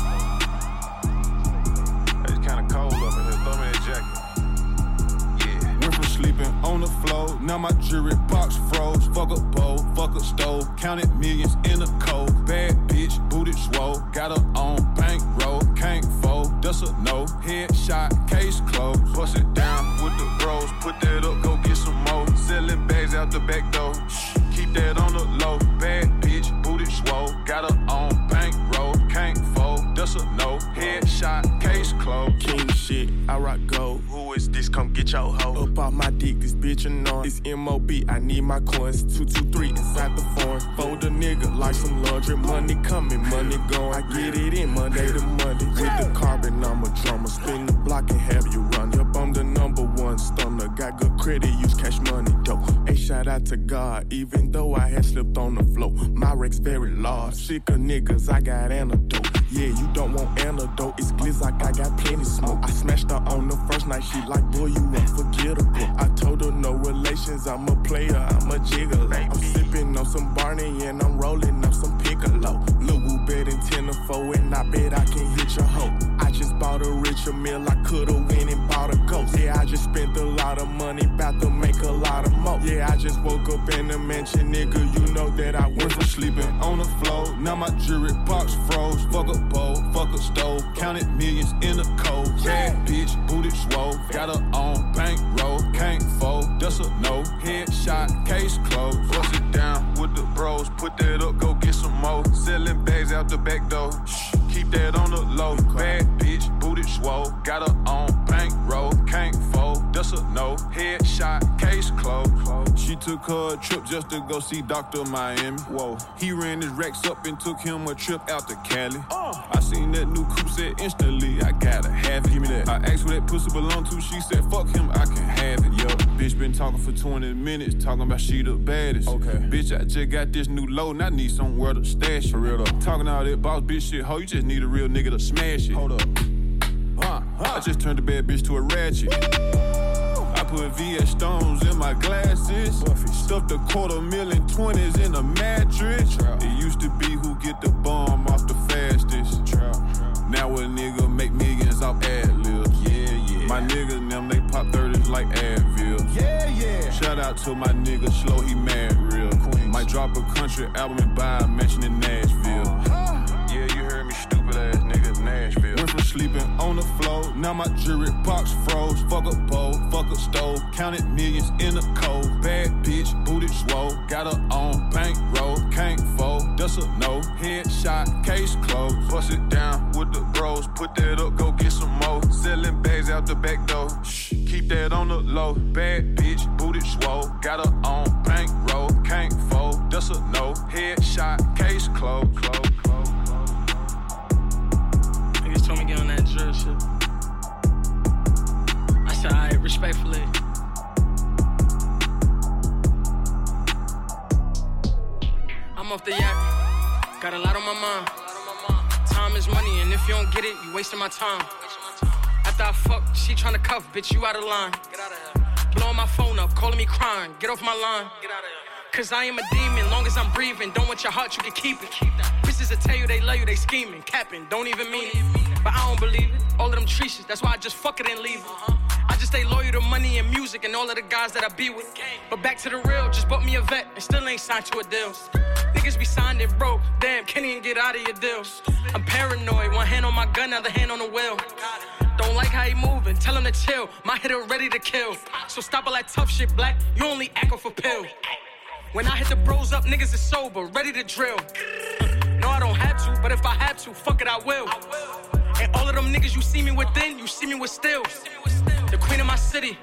Uh. It's kinda cold up in here, throw me that jacket. Yeah. Went from sleeping on the floor, now my jewelry box froze. Fuck a bowl, fuck a stove, counted millions in a cold. Bad bitch, booted swole, got her on bankroll, can't fold, that's a no. Headshot, case closed, bust it down with the bros, put that up, go get some more. Selling bags out the back door, shh, keep that on the low. Bad bitch, booted swole, got her on bankroll, can't fold, that's a no. Headshot, case closed. King shit, I rock gold. Who is this? Come get your hoe. Up off my dick, this bitch annoying. It's M O B, I need my coins. two two three inside the foreign. Fold a nigga like some laundry. Money coming, money going. I get it in Monday to Monday. With the carbon, I'm a drummer. Spin the block and have you run. Yup, I'm the number one stunner. Got good credit, use cash money, though. Hey, shout out to God, even though I had slipped on the floor. My wreck's very large. Sick of niggas, I got antidote. Yeah, you don't want antidote. It's glitz like I got plenty smoke. I smashed her on the first night. She like, boy, you unforgettable. I told her no relations. I'm a player, I'm a gigolo. I'm sipping on some Barney and I'm rolling up some Piccolo. Lil' Woo bet in ten to four and I bet I can hit your hoe. I just bought a richer meal. I could've went and bought a ghost. Yeah, I just spent a lot of money, bout to make a lot of more. Yeah, I just woke up in the mansion, nigga. You know that I went from sleeping on the floor. Now my jewelry box froze. Fuck a bowl, fuck a stove. Counted millions in a cold. Bad bitch, booted swole. Got her on bankroll, can't fold. That's a no. Headshot, case closed. Bust it down with the bros. Put that up, go get some more. Selling bags out the back door. Shh, keep that on the low. Bad bitch, booted swole. Got her on bankroll, can't fold. That's a no. Headshot, case closed. She took her a trip just to go see Doctor Miami. Whoa. He ran his racks up and took him a trip out to Cali. Oh. I seen that new coupe, said instantly, I gotta have it. Give me that. I asked where that pussy belong to, she said, fuck him, I can have it. Yo, bitch been talking for twenty minutes, talking about she the baddest. Okay. Bitch, I just got this new load and I need somewhere to stash it. For real though. Talking all that boss bitch shit, ho, you just need a real nigga to smash it. Hold up. Huh, huh. I just turned the bad bitch to a ratchet. Woo! I put V S stones in my glasses. Buffy. Stuffed a quarter million twenties in a mattress. Trap. It used to be who get the bomb off the fastest. Trap. Now a nigga make millions off ad-libs. Yeah, yeah. My niggas, them, they pop thirties like Advil. Yeah, yeah. Shout out to my nigga Slow, he mad real. Queens. Might drop a country album and buy a mansion in Nashville. Uh-huh. Yeah, you heard me, stupid ass nigga, Nashville. Went from sleeping on the floor, now my jewelry box froze. Fuck a pole, fuck a stove, counted millions in a cold. Bad bitch, booted swole, got her on bankroll, can't fold, that's a no. Headshot, case closed, bust it down with the bros, put that up, go get some more. Selling bags out the back door, shh, keep that on the low. Bad bitch, booted swole, got her on bankroll, can't fold, that's a no. Headshot, case closed, close, close. Niggas told me get on that drill shit. I said, alright, respectfully. I'm off the yacht, got a lot on my mind. Time is money, and if you don't get it, you wasting my time. After I fuck, she tryna cuff, bitch, you out of line. Blowing my phone up, calling me crying, get off my line. Cause I am a demon, long as I'm breathing. Don't want your heart, you can keep it. Bitches that tell you they love you, they scheming, capping, don't even mean it. But I don't believe it, all of them treaches, that's why I just fuck it and leave it. I just stay loyal to money and music and all of the guys that I be with. But back to the real, just bought me a vet and still ain't signed to a deal. Niggas be signed and broke, damn, can't even get out of your deals. I'm paranoid, one hand on my gun, other hand on the wheel. Don't like how he moving, tell him to chill, my hitter ready to kill. So stop all that tough shit, black, you only act off a pill. When I hit the bros up, niggas is sober, ready to drill. No, I don't have to, but if I had to, fuck it, I will. And all of them niggas you see me within, you see me with still. The queen of my city,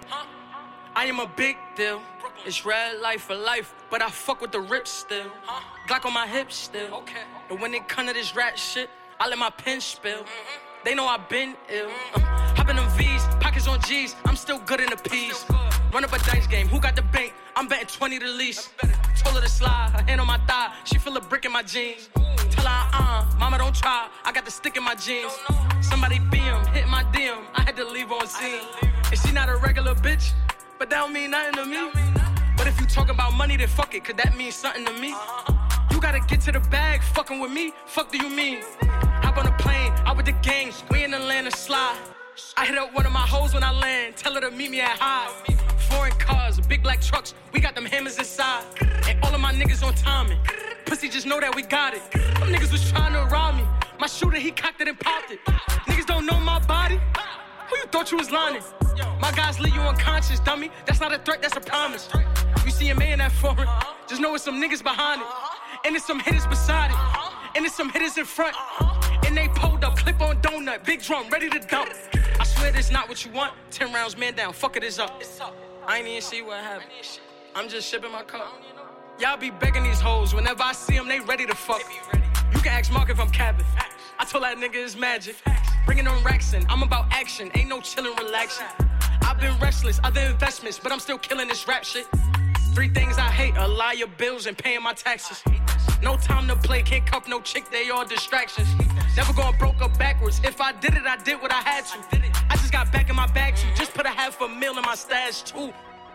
I am a big deal. It's red life for life, but I fuck with the rips still. Glock on my hips still. And when it come to this rat shit, I let my pen spill. They know I've been ill. Uh, hop in them V's, pockets on G's, I'm still good in the P's. Run up a dice game, who got the bank? I'm betting twenty the least. Told her to slide, her hand on my thigh, she feel a brick in my jeans. Tell her, uh, mama don't try, I got the stick in my jeans. Somebody B M, hit my D M, I had to leave on scene. And she not a regular bitch, but that don't mean nothing to me. But if you talk about money, then fuck it, cause that means something to me. You gotta get to the bag, fucking with me, fuck do you mean? Hop on a plane, out with the gang, we in Atlanta slide. I hit up one of my hoes when I land, tell her to meet me at high. Foreign cars, big black trucks, we got them hammers inside. And all of my niggas on timing, pussy just know that we got it. Them niggas was trying to rob me, my shooter he cocked it and popped it. Niggas don't know my body, who you thought you was lying? My guys leave you unconscious, dummy, that's not a threat, that's a promise. You see a man that foreign, just know it's some niggas behind it. And it's some hitters beside it, and it's some hitters in front. And they pulled up, clip on donut, big drum, ready to dump. I swear this not what you want, ten rounds man down, fuck it is up. I ain't even see what happened, I'm just shipping my cup. Y'all be begging these hoes, whenever I see them, they ready to fuck. You can ask Mark if I'm capping, I told that nigga it's magic. Bringing them racks in, I'm about action, ain't no chillin', relaxing. I've been restless, other investments, but I'm still killing this rap shit. Three things I hate, a liar, bills, and paying my taxes. No time to play, can't cuff no chick, they all distractions. Never going broke up backwards, if I did it, I did what I had to. I just got back in my bag too, just put a half a meal in my stash too.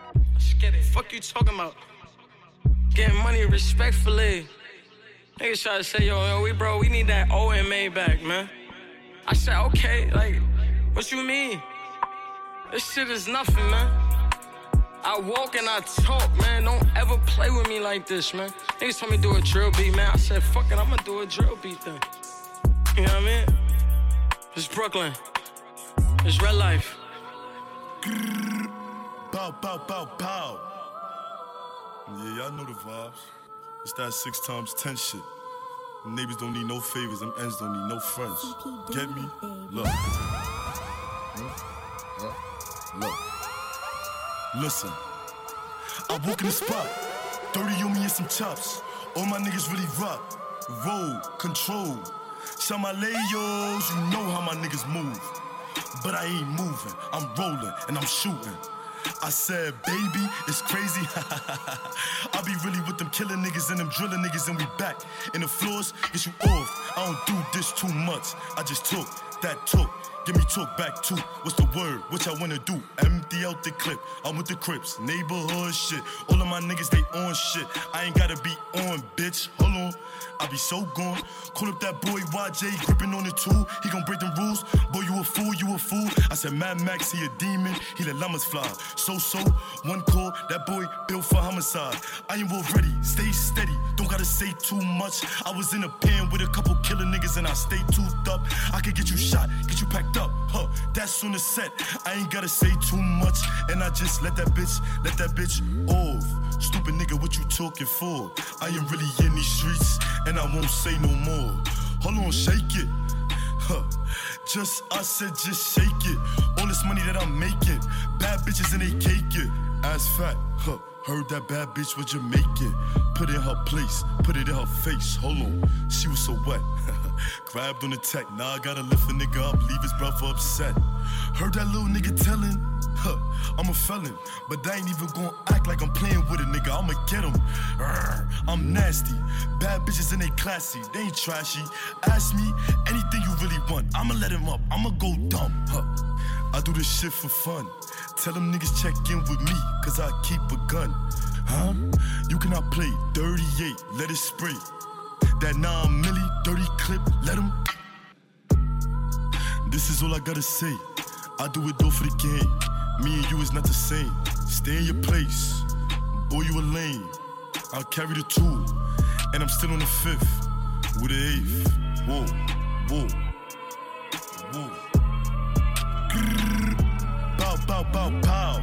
Fuck you talking about? Getting money respectfully. Niggas try to say, yo, yo, we bro, we need that O M A back, man. I said, okay, like, what you mean? This shit is nothing, man. I walk and I talk, man. Don't ever play with me like this, man. Niggas told me do a drill beat, man. I said, fuck it, I'ma do a drill beat then. You know what I mean? It's Brooklyn. It's real life. Bow, bow, bow, bow. Yeah, y'all know the vibes. It's that six times ten shit. Them neighbors don't need no favors. Them ends don't need no friends. Get me? Look. Hmm? Huh? Look. Listen. I walk in the spot, thirty on me and some chops. All my niggas really rock, roll, control. Shout my layos, you know how my niggas move. But I ain't moving, I'm rolling and I'm shooting. I said, baby, it's crazy. I be really with them killing niggas and them drilling niggas, and we back in the floors, get you off. I don't do this too much, I just took that took. Give me talk back too. What's the word? What y'all wanna do? Empty out the clip. I'm with the Crips, neighborhood shit. All of my niggas, they on shit. I ain't gotta be on, bitch. Hold on. I be so gone. Call up that boy Y J, gripping on the tool. He gon' break them rules. Boy, you a fool, you a fool. I said Mad Max, he a demon. He let llamas fly. So so, one call. That boy built for homicide. I am already. Stay steady. Don't gotta say too much. I was in a pen with a couple killer niggas and I stay toothed up. I could get you shot, get you packed up. Huh, that's on the set. I ain't gotta say too much. And I just let that bitch, let that bitch off. Stupid nigga, what you talking for? I am really in these streets, and I won't say no more. Hold on, shake it. Huh. Just, I said just shake it. All this money that I'm making. Bad bitches and they cake it. Ass fat, huh. Heard that bad bitch was Jamaican. Put it in her place, put it in her face. Hold on, she was so wet. Grabbed on the tech, now I gotta lift a nigga up, leave his brother upset. Heard that little nigga telling, huh, I'm a felon, but I ain't even gonna act like I'm playing with a nigga, I'ma get him. Urgh, I'm nasty, bad bitches and they classy, they ain't trashy. Ask me anything you really want, I'ma let him up, I'ma go dumb, huh. I do this shit for fun. Tell them niggas check in with me, cause I keep a gun. Huh? You cannot play thirty-eight, let it spray. That nine milli, dirty clip, let him. This is all I gotta say. I do it all for the game. Me and you is not the same. Stay in your place. Boy, you a lame. I'll carry the two. And I'm still on the fifth. With the eighth. Whoa, whoa, whoa. Grrr. Bow, bow, bow, pow.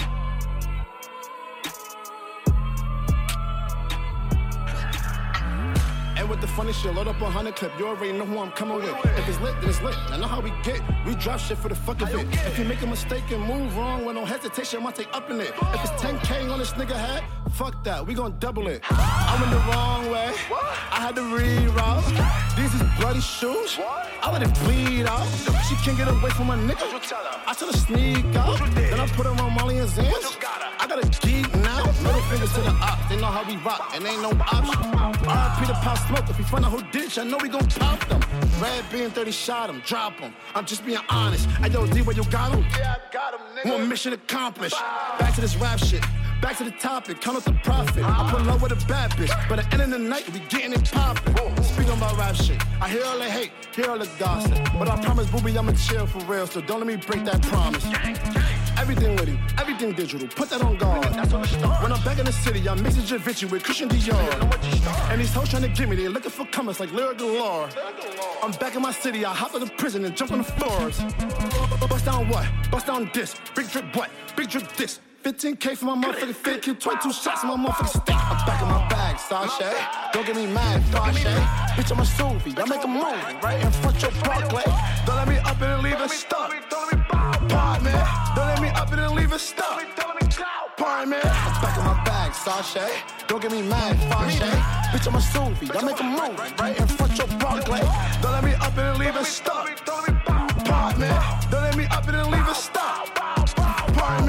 And with the funny shit, load up a hundred clip. You already know who I'm coming with. If it's lit, then it's lit. I know how we get. We drop shit for the fuck of it. If you make a mistake and move wrong with no hesitation, I might take up in it. If it's ten K on this nigga head, fuck that. We gon' double it. I went the wrong way. I had to reroute. These is bloody shoes. I let it bleed out. She can't get away from my nigga. I tell her sneak out. Then I put her on Molly and Zans. I got a geek now. Middle fingers to the ops. They know how we rock, and ain't no option. R I P the pop smoke. If we find out who did it, I know we gon' pop them. Red being thirty shot him, drop him. I'm just being honest. I yo, D, where you got him? Yeah, I got him, nigga. One mission accomplished. Back to this rap shit. Back to the topic, count up the profit. I put love with a bad bitch, but at the end of the night, we getting it poppin'. Speaking about rap shit, I hear all the hate, hear all the gossip. But I promise, booby, I'ma chill for real, so don't let me break that promise. Everything with him, everything digital, put that on guard. When I'm back in the city, I'm mixing Javinci with Christian Dior. And these hoes trying to get me, they looking for comers like Lyric Galore. I'm back in my city, I hop out of prison and jump on the floors. Bust down what? Bust down this. Big drip what? Big drip this. fifteen K for my motherfucking fit, kill twenty-two shots in my motherfucking stick. I'm back in my bag, Sasha. Don't get me mad, Sasha. Bitch, I'm a Suvi, I make a move right in front your Barclay. Don't let me up and leave it stuck. Pardon me. Don't let me up and leave it stuck. Pardon me. I'm back in my bag, Sasha. Don't get me mad, Sasha. Bitch, I'm a Suvi, I make a move right in front your Barclay. Don't let me up and leave it stuck. Pardon me. Don't let me up and leave it stuck. Pardon me.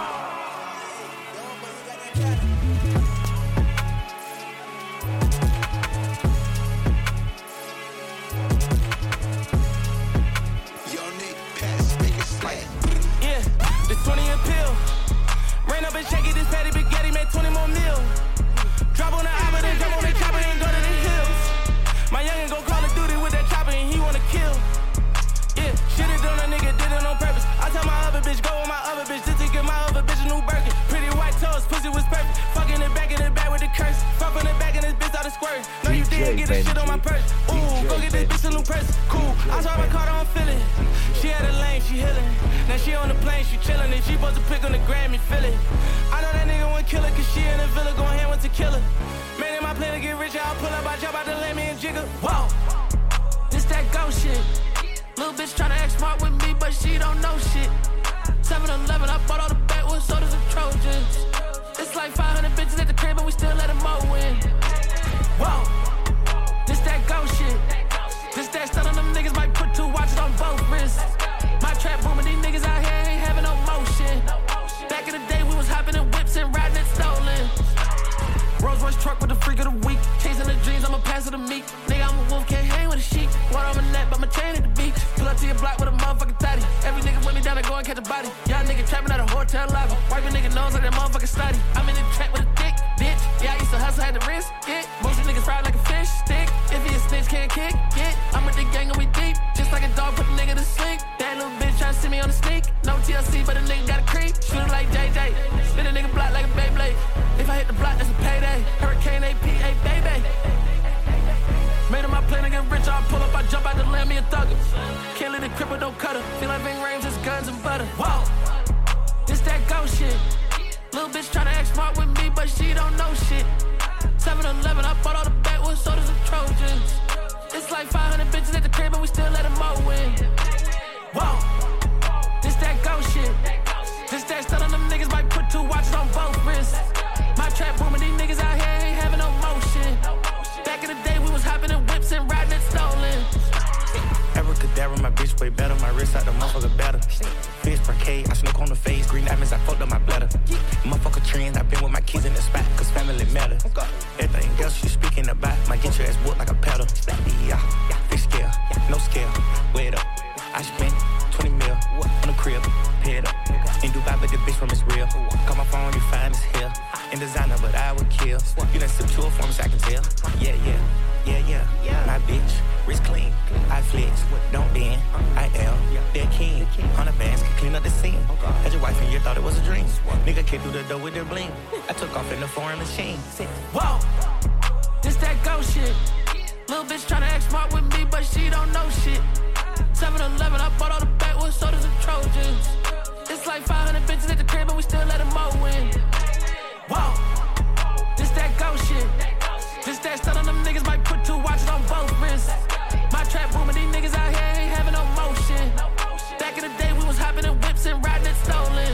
twenty a pill. Rain up and shake it, this patty spaghetti make twenty more mil. Drop on the album, then jump on the chopper and go to the hills. My youngin' go Call of Duty with that chopper and he wanna kill. Yeah, shit it on a nigga, did it on purpose. I tell my other bitch, go with my other bitch, just to get my other bitch a new Birkin. Pretty white toes, pussy was perfect. Fucking it back in the back with the curse. Fuck in the back and this bitch out of squirt. No, you didn't get this shit on my purse. Ooh, go get this bitch a new purse. Cool, I saw my car, I don't feel it. She had a lane, she healing. Now she on the plane, she chillin'. And she supposed to pick on the Grammy, feel it. I know that nigga won't kill her, cause she in the villa going hand with tequila. Man, in my plan to get rich, I'll pull up, I drop out the lame and jiggle. Whoa, this that ghost shit. Little bitch tryna act smart with me, but she don't know shit. seven eleven, I bought all the backwoods sodas and Trojans. It's like crib and we still let them mow in. Whoa, this that ghost shit. This that stuff on them niggas might put two watches on both wrists. My trap booming, these niggas out here ain't having no motion. Back in the day, we was hopping in whips and riding it stolen. Rolls Royce truck with the freak of the week. Chasing the dreams, I'ma pass it to me. Nigga, I'm a wolf, can't hang with a sheep. Water on my neck, but my chain at the beach. Pull up to your block with a motherfucking thotty. Every nigga with me down to go and catch a body. Y'all nigga trapping at a hotel lobby. Wipe a nigga nose like that motherfucking study. I'm in the trap with a dick, bitch. Yeah, I used to hustle, had to risk it. Most of niggas fried like a fish stick. If he a snitch, can't kick it. I'm with the gang and we deep. Just like a dog, put a nigga to sleep. That little bitch tryna see me on the sneak. No T L C, but a nigga got a creep. Shoot it like J J. Spin a nigga block like a Beyblade. If I hit the block, that's a payday. Hurricane A P A, baby. Made him my plan to get rich. I pull up, I jump out the land, me a thugger. Can't let it cripple, don't cut her. Feel like Ving Rhames, just guns and butter. Whoa, this that ghost shit. Little bitch tryna act smart with me, but she don't know shit. seven eleven, I bought all the backwoods sodas and Trojans. It's like five hundred bitches at the crib, and we still let them mow in. Whoa, this that ghost shit. This that stuff on them niggas might put two watches on both wrists. My trap booming, these niggas out here ain't having no motion. Back in the day, we was hopping in whips and riding it stolen. Abracadabra, my bitch way better. My wrist out the motherfucker better. Fish parquet, I snook on the face. Green diamonds, I fucked up my bladder. Motherfucker trends, I been with my kids in the spot, cause family matter. Everything else you speaking about might get your ass whooped like a pedal. Yeah, fish scale, no scale, weigh it up. I spent twenty mil on the crib, pay it up. In Dubai, but the bitch from is real. Call my phone, you fine as hell. In designer, but I would kill. You done sip two for me, so I can tell. Yeah, yeah, yeah, yeah. My bitch, wrist clean. I flex, don't bend. I am that king. Hundred bands can clean up the scene. Had your wife and you thought it was a dream. Nigga came through the door with their bling. I took off in the foreign machine. Whoa, this that ghost shit. Little bitch tryna act smart with me, but she don't know shit. seven eleven, I bought all the backwoods sodas and Trojans. It's like five hundred bitches at the crib, and we still let them mow in. Whoa, this that ghost shit. This that stuff on them niggas might put two watches on both wrists. My trap booming, these niggas out here ain't having no motion. Back in the day, we was hopping in whips and riding it stolen.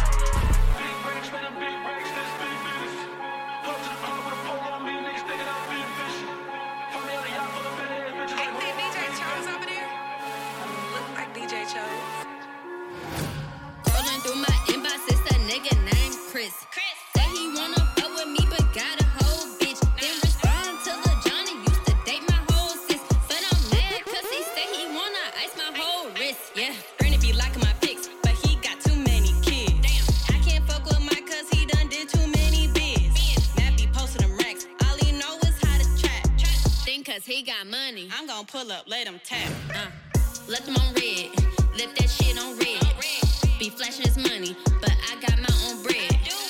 Scrolling through my inbox, it's a nigga named Chris. Chris. Say he wanna fuck with me, but got a whole bitch. Then respond to Lil Johnny, used to date my whole sis. But I'm mad cause he say he wanna ice my whole wrist. Yeah, Bernie be liking my pics, but he got too many kids. Damn, I can't fuck with Mike cause he done did too many bids. Matt be posting them racks, all he know is how to trap. Think cause he got money, I'm gon' pull up, let him tap. Uh, let them on red, left that shit on red. Be flashing his money, but I got my own bread.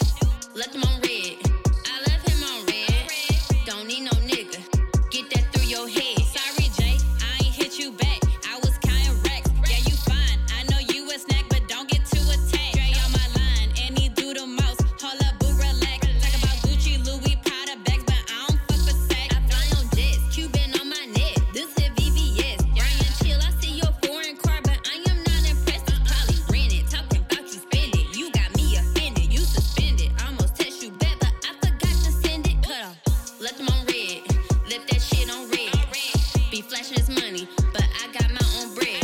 Let them on red, I left him on red. Don't need no nigga, get that through your head. Sorry Jay, I ain't hit you back, I was counting racks. Yeah you fine, I know you a snack, but don't get too attached. Dre on my line, and he do the most. Hold up, boo, relax. Talk about Gucci, Louis, Prada bags, but I don't fuck with sex. I fly on jets, Cuban on my neck, this is V V S. Brian chill, I see your foreign car, but I am not impressed. It's probably rented, talking about you spend it. You got me offended, you suspended. Almost text you back, but I forgot to send it. Cut off, let them on red, left that shit on red. Be flashing his money, but I got my own bread.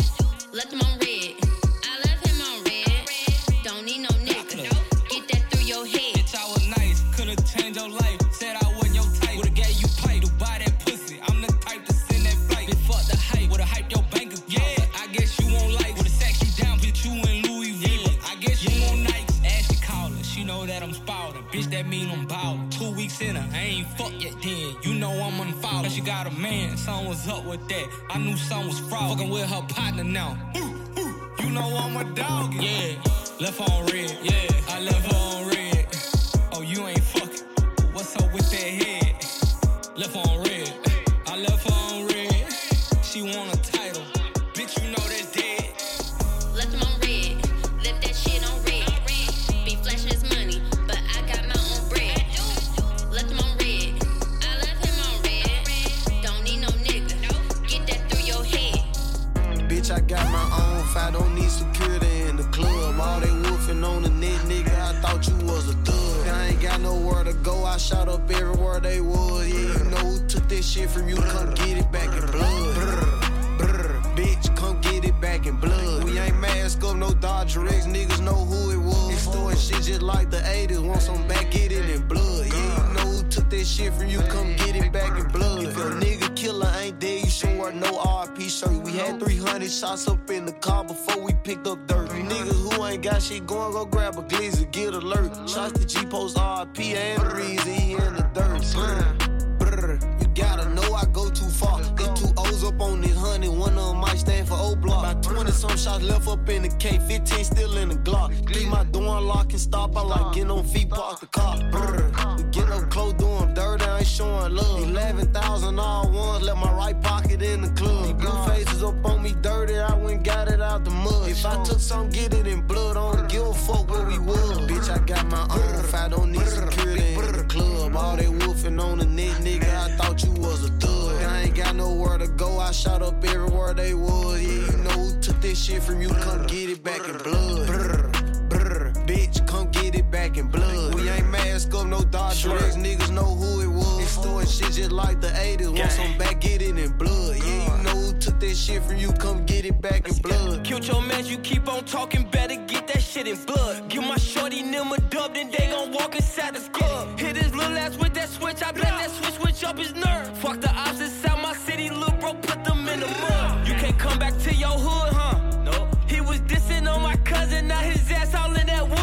Let them on red, I left him on red. Don't need no nigga, get that through your head. Bitch, I was nice, could've changed your life. Said I wasn't your type, would've gave you pipe to buy that pussy. I'm the type to send that flight. Bitch, fuck the hype, would've hyped your bank account. Yeah, I guess you won't like, would've sacked you down, put you in Louis V. Yeah. I guess you won't Nikes. Ashley callin', she know that I'm spouting. Bitch, that mean I'm ballin'. Two weeks in her, I ain't fuck yet then. You know I'm unfollowed. She got a man, something was up with that. I knew something was fraud. Fucking with her partner now. You know I'm a dog. Yeah, left on red. Yeah, I left her on red. Oh, you ain't fucking. What's up with that head? Left on red. I left her on red. She want a title. Bitch, you know that's dead. Let them on red, left that shit on red. Be flashing his money, but I got my own bread. Let them on red, I left him on red. Don't need no nigga, get that through your head. Bitch, I got my own fight, don't need security in the club. All they woofing on the net, nigga, I thought you was a thug. I ain't got nowhere to go. I shot up everywhere they was. Yeah, you know who took this shit from you. Come get it back in blood. Brr, brr, bitch, come get it back in blood. We ain't mask up, no Dodger X. Niggas know who it was. Extorting shit just like the eighties. Want some back, get it in blood. Yeah, you know who took this shit from you. Come get it back in blood. If a nigga killer ain't dead, you should wear no R I P shirt. We had three hundred shots up in the car before we picked up dirt. You niggas who ain't got shit going, go grab a glizzy, get alert. Shots to G-Post R I P and the reason he in the dirt. Brr, brr, you gotta know I go too far. They two O's up on this honey, one of them might stand for O-Block. About twenty some shots left up in the K, fifteen still in the Glock. Leave my door unlocked and stop, I like getting on feet, park the car. Brr, we get up close, do them dirty, I ain't showing love. eleven thousand all ones, left my right pocket in the club. Blue faces up on me dirty, I went got it out the mud. If I took some, get it in blood, I don't give a fuck where we was. Bitch, I got my own, if I don't need security in the club. All they wolfing on the net, nigga, I thought you was a thug. I ain't got nowhere to go, I shot up everywhere they was. Yeah, you know who took this shit from you, come get it back in blood. Brr, brr, bitch, come get it back in blood. We ain't mask up, no Dodger X, niggas know who it was. Extorting shit just like the eighties, want some back, get it in blood. Yeah, you know who took this shit from you, come get it back in blood. Killed your man, you keep on talking, better get that shit in blood. Give my shorty them a dub, then they gon' walk inside the club. Hit his little ass with that switch, I bet that switch switch up his nerve. Fuck the ops inside my city, little bro, put them in the mud. You can't come back to your hood, huh? No. He was dissing on my cousin, now his ass all in that wood,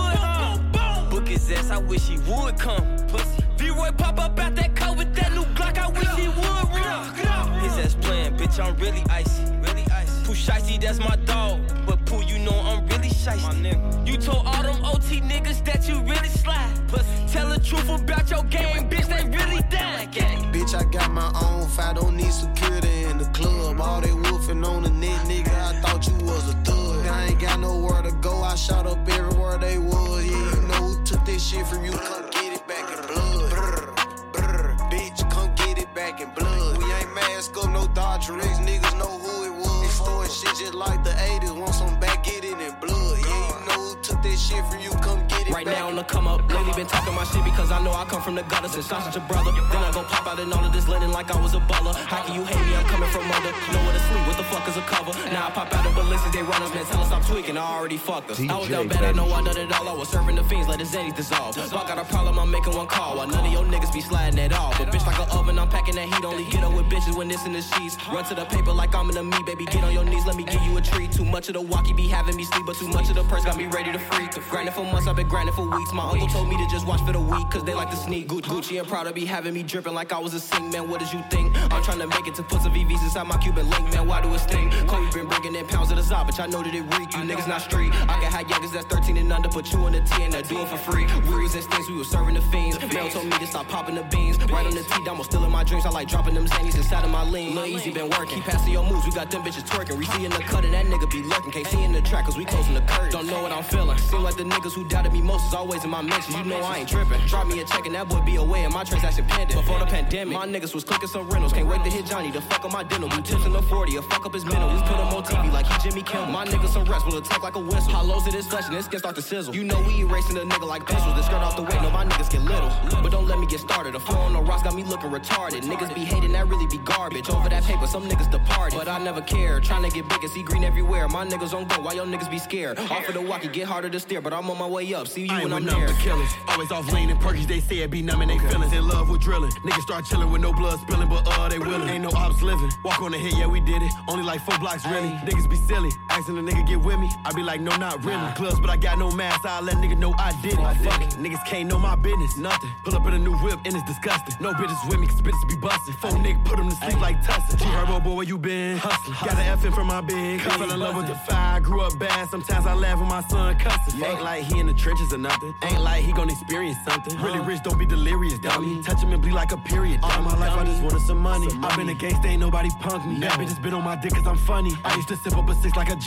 huh? Book his ass, I wish he would come. Pussy. V-Roy pop up out that car with that new Glock, I wish he would run. His ass playing, bitch, I'm really icy. Really icy. Pooh Shicey, that's my dog. But Pooh, you know I'm really shicey. You told all them O T niggas that you really slide. Pussy. Tell the truth about your game, bitch, they really died. Bitch, I got my own, if I don't need security in the club. All they wolfing on the net, nigga, I thought you was a thug. I ain't got nowhere to go, I shot up everywhere they was. Yeah, you know who took this shit from you, come get it back in blood. Brr, brr, bitch, come get it back in blood. We ain't mask up, no Dodger X, niggas know who it was. Extorting shit just like the eighties, want some back, get it in blood. Yeah, you know who took this shit from you, come get it right back. Now on the come up, lately been talking my shit because I know I come from the gutter since sausage a brother. Then I go pop out in all of this linen like I was a baller. How can you hate me? I'm coming from under. Nowhere to sleep, what the fuck is a cover? Now I pop out in ballistics, they run us, man, tell us I'm tweaking, I already fucked us. I was down bad, I know I done it all, I was serving the fiends, let his zany dissolve. Fuck got a problem, I'm making one call, while none of your niggas be sliding at all. But bitch like an oven, I'm packing that heat, only get up with bitches when it's in the sheets. Run to the paper like I'm in the meat, baby, get on your knees, let me give you a treat. Too much of the walkie be having me sleep, but too much of the purse got me ready to freak. Grinding for months, I've been grinding for weeks. My uncle told me to just watch for the week, cause they like to sneak. Gucci and Prada be having me dripping like I was a sing, man, what did you think? I'm trying to make it to put some V Vs inside my Cuban link, man, why do it sting? Kobe been bringing in pounds of the Zop, but I know that it reek. You niggas not street. I can have youngers that's thirteen and under, put you in the T and I do it for free. We was in stinks, we was serving the fiends. Mel told me to stop popping the beans. Right on the T, I'm still in my dreams. I like dropping them zannies inside of my lean. Lil Easy been working. Keep passing your moves, we got them bitches twerking. We see in the cut and that nigga be lurking. Can't see in the track cause we closing the curtain. Don't know what I'm feeling. Seem like the niggas who doubted me most is always in my mentions. You know I ain't tripping. Drop me a check and that boy be away and my transaction pending. Before the pandemic, my niggas was clicking some rentals. Can't wait to hit Johnny to fuck up my dental. We tips in the forty, or fuck up his mental. We put him on T V like he Jimmy Kimmel. My niggas some rest will attack like a whistle. Hollows it is flesh and this can start to sizzle. You know we erasing a nigga like pencils. The skirt off the way, no my niggas get little. But don't let me get started. The flow on the rocks got me looking retarded. Niggas be hating, that really be garbage. Over that paper, some niggas departed. But I never care. Trying to get big and see green everywhere. My niggas on go, why your niggas be scared? Off of the walkie, get harder to steer. But I'm on my way up. See you when I'm there. Killers, always off lean and perkies. They say it be numbing they feelings. In love with drilling. Niggas start chilling with no blood spilling, but uh they willing. Ain't no ops living. Walk on the hit, yeah we did it. Only like four blocks really. Niggas be silly. Asking the nigga get with me. I be like no not really. Clubs but I got no mask. I let nigga know I did it. Fuck it. Niggas can't know my business. Nothing. Pull up in a new whip and it's disgusting. No bitches with me cause bitches be busting. Four niggas put them to sleep like Tussin. G Herbo boy where you been? Hustling. Got an F in from my big. I fell in love with the fire. Grew up bad. Sometimes I laugh when my son cussing. Ain't like he in the trenches or nothing. Ain't like he gon' experience something. Really rich don't be delirious dummy. Touch him and bleed like a period. All my life I just wanted some money. I've been a gangsta, ain't nobody punk me. That bitch just been on my dick cause I'm funny. I used to sip up a six like a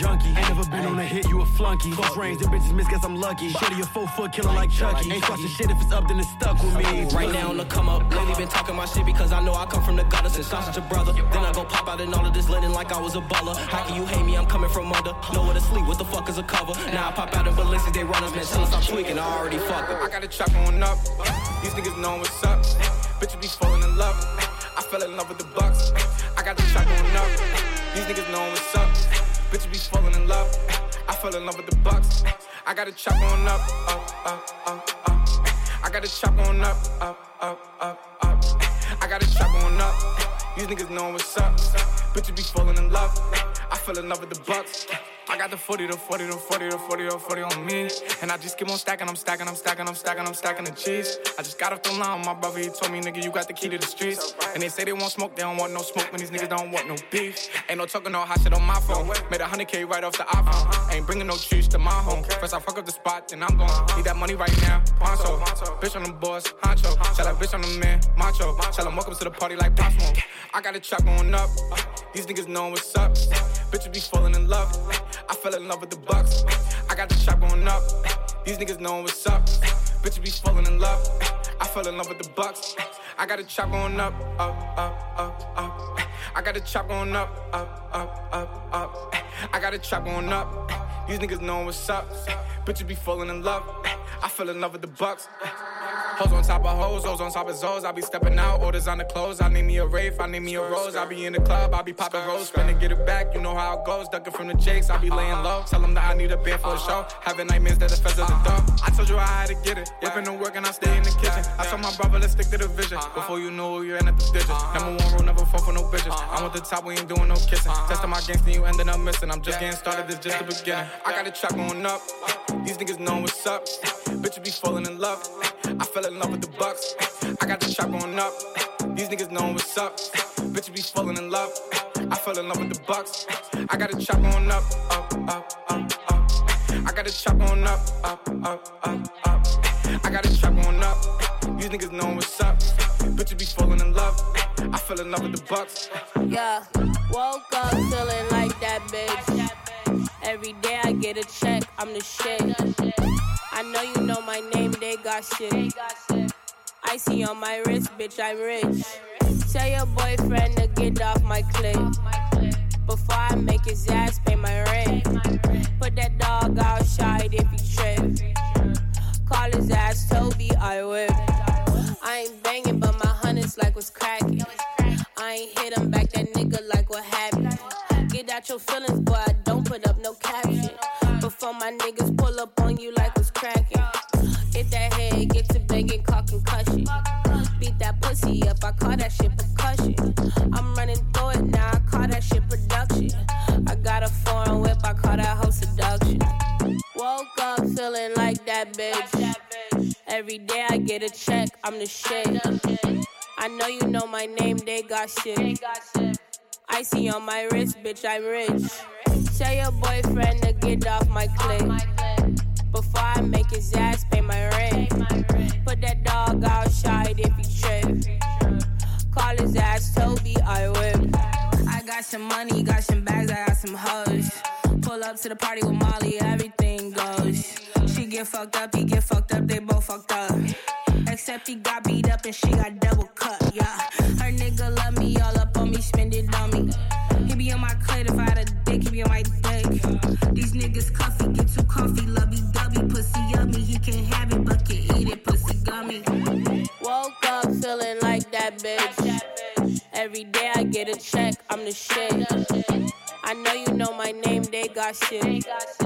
junkie. Ain't never been on a hit, you a flunky. Close range, them bitches miss, guess I'm lucky. Shorty a four foot killer like Chucky. Ain't trusting shit if it's up, then it's stuck with me. Right now on the come up, lately been talking my shit because I know I come from the gutter since I'm such a brother. Then I go pop out in all of this linen like I was a baller. How can you hate me? I'm coming from under. Nowhere to sleep, what the fuck is a cover? Now I pop out in Balenciagas, they runners, man. Since I'm tweaking, I already fucked them. I got a chop on up. These niggas know what's up. Bitches be falling in love. I fell in love with the Bucks. I got the chop on up. These niggas know what's up. Bitches be falling in love. I fell in love with the Bucks. I got a chop on up, up, up, up, up. I got a chop on up, up, up, up, up. I got a chop on up. These niggas know what's up. Bitches be falling in love. I fell in love with the Bucks. I got the forty, the forty, the forty, the forty, the forty on me. And I just keep on stacking, I'm stacking, I'm stacking, I'm stacking, I'm stacking the cheese. I just got off the line with my brother, he told me, nigga, you got the key to the streets. And they say they want smoke, they don't want no smoke, when these niggas don't want no beef. Ain't no talking, no hot shit on my phone. Made a hundred K right off the iPhone. Ain't bringing no cheese to my home. First I fuck up the spot, then I'm gone. Need that money right now, Poncho. Bitch on the boss, Honcho. Tell that bitch on the man, Macho. Tell him welcome to the party like Possum. I got a chop going up. These niggas know what's up. Bitches be falling in love. I fell in love with the Bucks. I got the chop going up. These niggas know what's up. Bitches be falling in love. I fell in love with the Bucks. I got the chop going up, up, up, up, up. I got the chop going up, up, up, up, up. I got the chop going up. These niggas know what's up. Bitches be falling in love. I fell in love with the Bucks. Hoes on top of hoes, hoes on top of zoes. I be stepping out, orders on the clothes. I need me a Wraith, I need me a Rose. I be in the club, I be popping rolls. Spinning, get it back, you know how it goes. Ducking from the jakes, I be laying low. Tell them that I need a bed for a show. Having nightmares that the feds at the door. I told you I had to get it. Whipping the work and I stay in the kitchen. I told my brother, let's stick to the vision. Before you know you're in at the digits. Number one rule, never fall for no bitches. I'm at the top, we ain't doing no kissing. Testing my gangsta, you ended up missing. I'm just getting started, this just the beginning. I got a chop going up. These niggas know what's up. Bitches be falling in love. I fell in love with the Bucks. I got the chop going up. These niggas know what's up. Bitches be falling in love. I fell in love with the Bucks. I got the chop going up, up, up, up, up. I got the chop going up, up, up, up, up. I got the chop going up. These niggas know what's up. Bitches be falling in love. I fell in love with the Bucks. Yeah, woke up feeling like that bitch. Every day I get a check, I'm the shit. I know you know my name, they got shit. Icy on my wrist, bitch, I'm rich. Tell your boyfriend to get off my clip before I make his ass pay my rent. Put that dog outside if he trip. Call his ass Toby, I whip. I ain't banging, but my hunters like what's cracking. I ain't hit him back, that nigga like what happened. Get out your feelings, boy, I don't put up no caption. Before my niggas pull up on you like what's cracking. Hit that head, get to banging, call concussion. Beat that pussy up, I call that shit percussion. I'm running through it now, I call that shit production. I got a foreign whip, I call that hoe seduction. Woke up feeling like that bitch. Every day I get a check, I'm the shit. I know you know my name, they got shit. Icy on my wrist, bitch, I'm rich. Tell your boyfriend to get off my clip before I make his ass pay my rent. Put that dog outside if he trip. Call his ass Toby, I whip. I got some money, got some bags, I got some hoes. Pull up to the party with Molly, everything goes. She get fucked up, he get fucked up, they both fucked up. Except he got beat up and she got double cut, yeah. Her nigga love me, all up on me, spend it on me. He be on my clit, if I had a dick, he be on my dick. These niggas cuffy, get too comfy, lovey-dovey, pussy yummy. He can't have it, but can eat it, pussy gummy. Woke up feeling like that bitch. Every day I get a check, I'm the shit. I know you know my name, they got shit.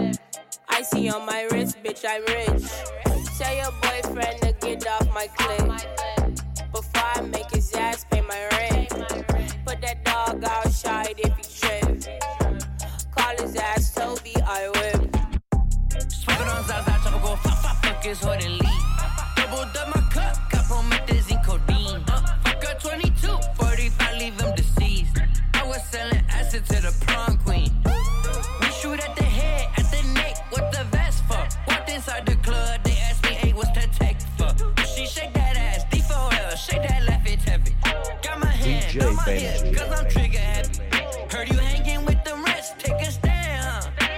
Icy on my wrist, bitch, I'm rich. Tell your boyfriend to get off my clip before I make his ass pay my rent. Put that dog outside if he trip. Call his ass Toby, I whip. Smoking on Zaza, tropical, fuck, fuck, fuck is what it lead. Doubled up my cup, got promethazine, codeine. Uh, fuck a twenty-two, forty-five, leave him deceased. I was selling acid to the prom queen. We shoot at the head, at the neck, what the vest for? Walked inside the club, they asked me, hey, what's the tech for? She shake that ass, D four L, shake that left, it's heavy. Got my hand D J on my Benji. hip, cause I'm trigger happy. Heard you hanging with the rest, take a stand, huh?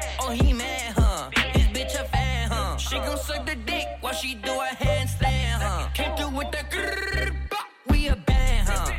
she do a handstand, huh? Came through with the grrrr, we a band, huh?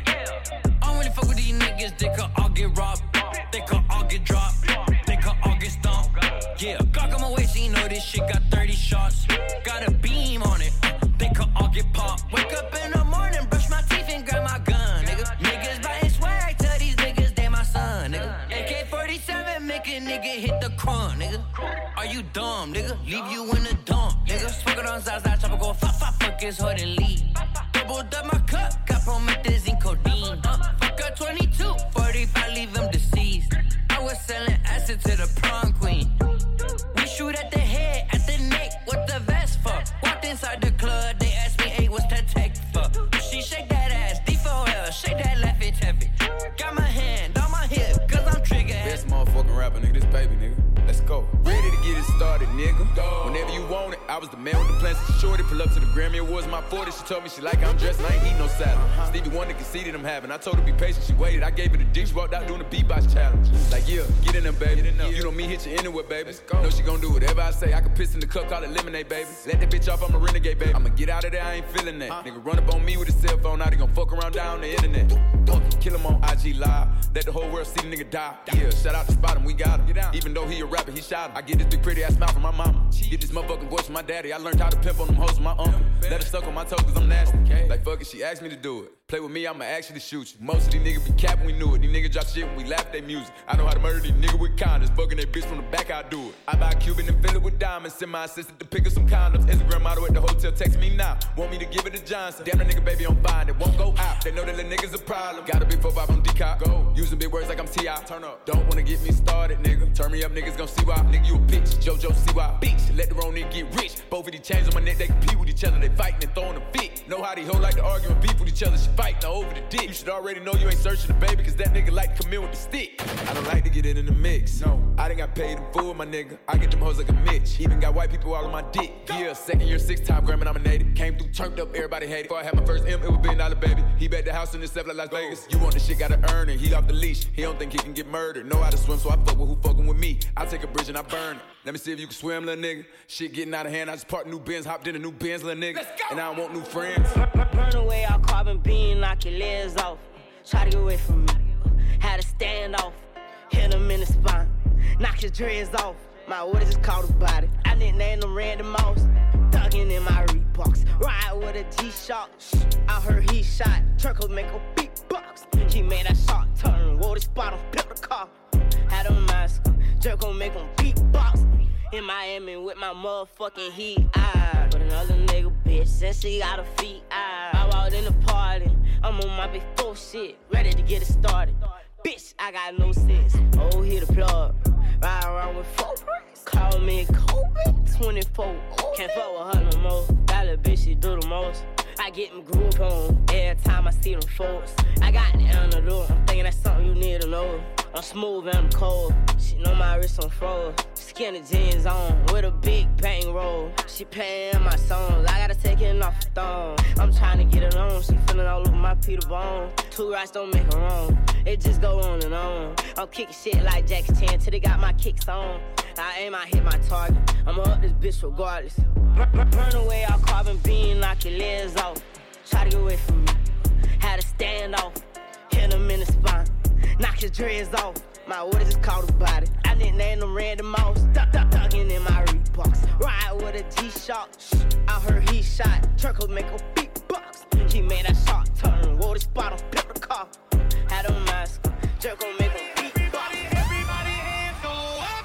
I don't really fuck with these niggas, they could all get robbed, they could all get dropped, they could all get stomped. Yeah, Glock on my waist, so you know this shit got thirty shots. Got a beam on it, they could all get popped. Wake up in the morning, brush my teeth and grab my gun, nigga. Niggas buying swag, tell these niggas they my son, nigga. A K forty-seven make a nigga hit the crunk, nigga. Are you dumb, nigga? Leave you in the dump, nigga. Smoking on Zaza, chopper go fuck, fuck, fuck his hood and leave. Doubled up my cup, got promethazine codeine. Uh, fuck a twenty-two, forty-five, leave him deceased. I was selling acid to the prom queen. We shoot at the head, at the neck, what the vest for? Walked inside the club, they asked me, hey, what's that tech for? She shake that ass, D four L, shake that left it heavy. Got my hand on my hip, cause I'm trigger happy. Best motherfucking rapper, nigga, this baby, nigga. Let's go. Ready to get it started, nigga. Go. Whenever you want it, I was the man with the plans. Shorty pull up to the Grammy Awards, my forty. She told me she like how I'm dressed and I ain't eat no salad. Uh-huh. Stevie Wonder conceded I'm having. I told her be patient, she waited. I gave her the dick, she walked out doing the beatbox challenge. Like, yeah, get in there, baby. In there. You know me, hit you anywhere, baby. Let's go. Know she gon' do whatever I say. I can piss in the cup, call it lemonade, baby. Let that bitch off, I'm a renegade, baby. I'ma get out of there, I ain't feeling that. Huh? Nigga run up on me with a cell phone, now they gon' fuck around down the internet. Kill him on I G Live, let the whole world see the nigga die. Yeah, shout out to Spot him, we got him. Even though he a rapper, he shot him. I get this big pretty ass mouth from my mama. Get this motherfucking voice from my daddy. I learned how to pimp on them hoes from my uncle. Let her suck on my toes cause I'm nasty. Okay. Like fuck it, she asked me to do it. Play with me, I'ma actually shoot you. Most of these niggas be capping, we knew it. These niggas drop shit when we laugh at their music. I know how to murder these niggas with kindness. Fucking that bitch from the back, I do it. I buy a Cuban and fill it with diamonds. Send my assistant to pick up some condoms. Instagram model at the hotel, text me now. Want me to give it to Johnson. Damn, that nigga baby on fine, it won't go out. They know that the niggas a problem. Got a big four five on D-Cop. Go. Using big words like I'm T I Turn up. Don't wanna get me started, nigga. Turn me up, niggas gon' see why. Nigga, you a bitch. JoJo, see why. Bitch, let the wrong nigga get rich. Both of these chains on my neck, they compete with each other. They fighting and throwing a fit. Know how these hoes like to argue and beef with each other. She fighting over the dick. You should already know you ain't searching the baby, cause that nigga like to come in with the stick. I don't like to get it in the mix. No, I done got paid in full, my nigga. I get them hoes like a Mitch. Even got white people all on my dick. Yeah, second year, six time Grammy nominated. Came through, turned up, everybody hated. Before I had my first M, it was billion dollar baby. He bet the house in himself like Las Vegas. You want the shit, gotta earn it. He off the leash, he don't think he can get murdered. Know how to swim, so I fuck with who fucking with me. I take a bridge and I burn it. Let me see if you can swim, little nigga. Shit getting out of hand, I just parked new Benz, hopped in a new Benz, little nigga. And I don't want new friends. Burn away all carbon beam, knock your legs off. Try to get away from me. Had to stand off. Hit him in the spine. Knock your dreads off. My orders just caught a body. I didn't name them Randy Moss. Thuggin' in my Reeboks. Ride with a G-Shock. I heard he shot. Turkle make a beatbox. He made that shot turn. Wore the spot on pimp the car. Had a mask. Jerk gon' make him beatbox. In Miami with my motherfucking heat. I but another nigga bitch since she got her feet. I, I walked in the party. I'm on my big four shit, ready to get it started. Bitch, I got no sense. Oh, hit the plug. Ride around with four bricks. Call me Kobe. twenty-four. Can't fuck with her no more. That little bitch, she do the most. I get my groove on every time I see them folks. I got the antidote. I'm thinking that's something you need to know. I'm smooth and I'm cold. She know my wrist on froze. Skinny jeans on with a big bang roll. She playing my songs. I gotta take it off the thong. I'm trying to get it on. She feeling all over my Peter Bone. Two rights don't make her wrong. It just go on and on. I'm kicking shit like Jackie Chan till they got my kicks on. I aim, I hit my target. I'ma up this bitch regardless. Burn, burn away all carbon beam, knock your legs off. Try to get away from me. Had to stand off. Hit him in the spine. Knock your dreads off. My orders just caught a body. I didn't name them Randy Moss. Duck, duck, ducking in my Reeboks. Ride with a G-Shock. I heard he shot. Turkle make a beatbox. He made that shot turn. Wore the spot on pimp the car. Had a mask. Jerk gon' make a beatbox. Everybody hands go up.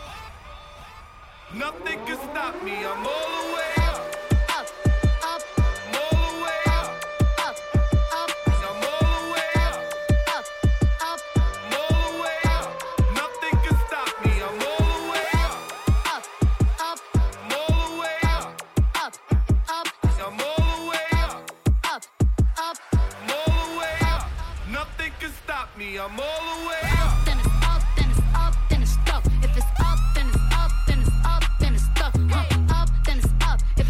Nothing can stop me. I'm all the way up. Up, up. I'm all the way up. Up, up. I'm all the way up. Up, up. I'm all the way up. Nothing can stop me. I'm all the way up. Up, up. I'm all the way up. Up, up. I'm all the way up. Up, up. I'm all the way up. Nothing can stop me. I'm all the way up. Then it's up, then it's up, then it's stuck. If it's up, then it's up, then it's up, then it's stuck. Up, up, then it's up.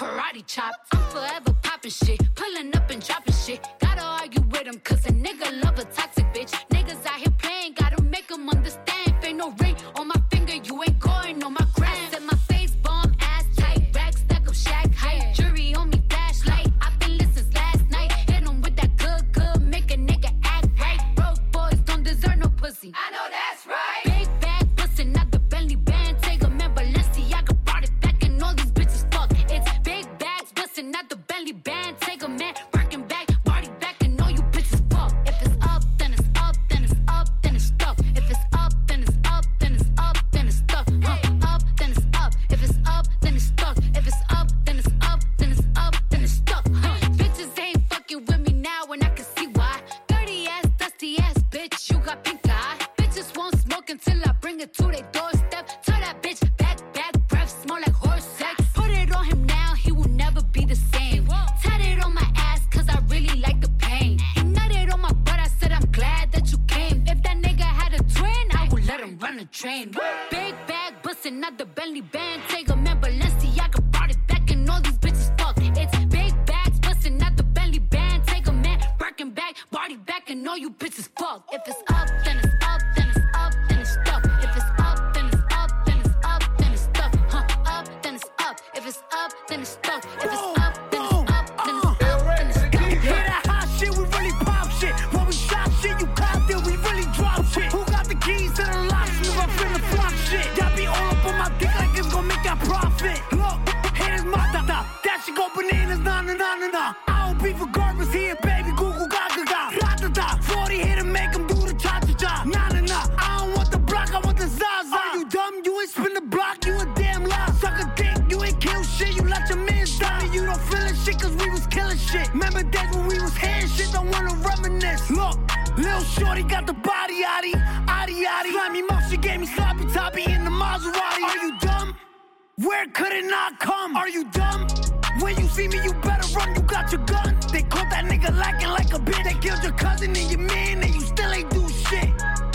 karate chop. I'm forever popping shit, pulling up and dropping shit. Gotta argue with him, cause a nigga love a toxic bitch. Niggas out here playing, gotta make them understand. If ain't no ring on my finger, you ain't going on my gram. I said my face bomb, ass tight, rack stack up shack height. Jury on me, flashlight. I've been listening since last night. Hit him with that good, good, make a nigga act right. Broke boys don't deserve no pussy. I know that's right. Big bag bustin', not the Bentley band. Take a man, Balenciaga brought it back, and all these bitches fuck. It's big bags bustin', not the Bentley band. Take a man, working back, party back, and all you bitches fuck. If it's up, then it's up, then it's up, then it's stuff. If it's up, then it's up, then it's up, then it's stuff. Huh? Up, then it's up. If it's up, then it's stuck. If it's up, then it's up, then it's up, then it's stuck. Huh? Bitches ain't fucking with me now, and I can see why. Dirty ass, dusty ass bitch, you got pink eye. Bitches won't smoke until I bring it to their doorstep. Tell that bitch back, back, breath smell like horse sex. Put it on him now, he will never be the same. Tatted on my ass, cause I really like the pain. He nutted on my butt, I said I'm glad that you came. If that nigga had a twin, I would let him run a train. Big bag bustin', not the Bentley band. Take a man, Balenciaga brought it back, and all these bitches fuck. It's big bags bustin', not the Bentley band. Take a man, working back, body back, and all you bitches fuck. If it's up, then it's up, then it's up, then it's stuff. If it's up, then it's up, then it's up, then it's stuff. Huh? Up, then it's up. If it's up, then it's stuff. If it's up, then it's up, then it's up, then it's stuff. Hear that hot shit, we really pop shit. When we shop shit, you copped it, we really drop shit. Who got the keys to the locksmith? I'm finna flop shit. Y'all be all up on my dick like it's gonna make that profit. Look, haters my da da. That shit go bananas, nah nah nah nah nah. I don't beef with garbage here, baby. Google gaga ga. Da da da. forty here to make them do the cha cha cha. Nah nah nah. I don't want the block, I want the zaza. Are you dumb? You ain't spin the block, you a damn lie. Suck a dick, you ain't kill shit. You let your man die. You don't feel it shit, cause we was killing shit. Remember days when we was hearing shit, don't wanna reminisce. Look, Lil Shorty got the body yaddy, yaddy yaddy. Slimy mouth, she gave me sloppy toppy in the Maserati. Are you dumb? Where could it not come? Are you dumb? When you see me, you better run, you got your gun. They caught that nigga lacking like a bitch. They killed your cousin and your man, and you still ain't do shit.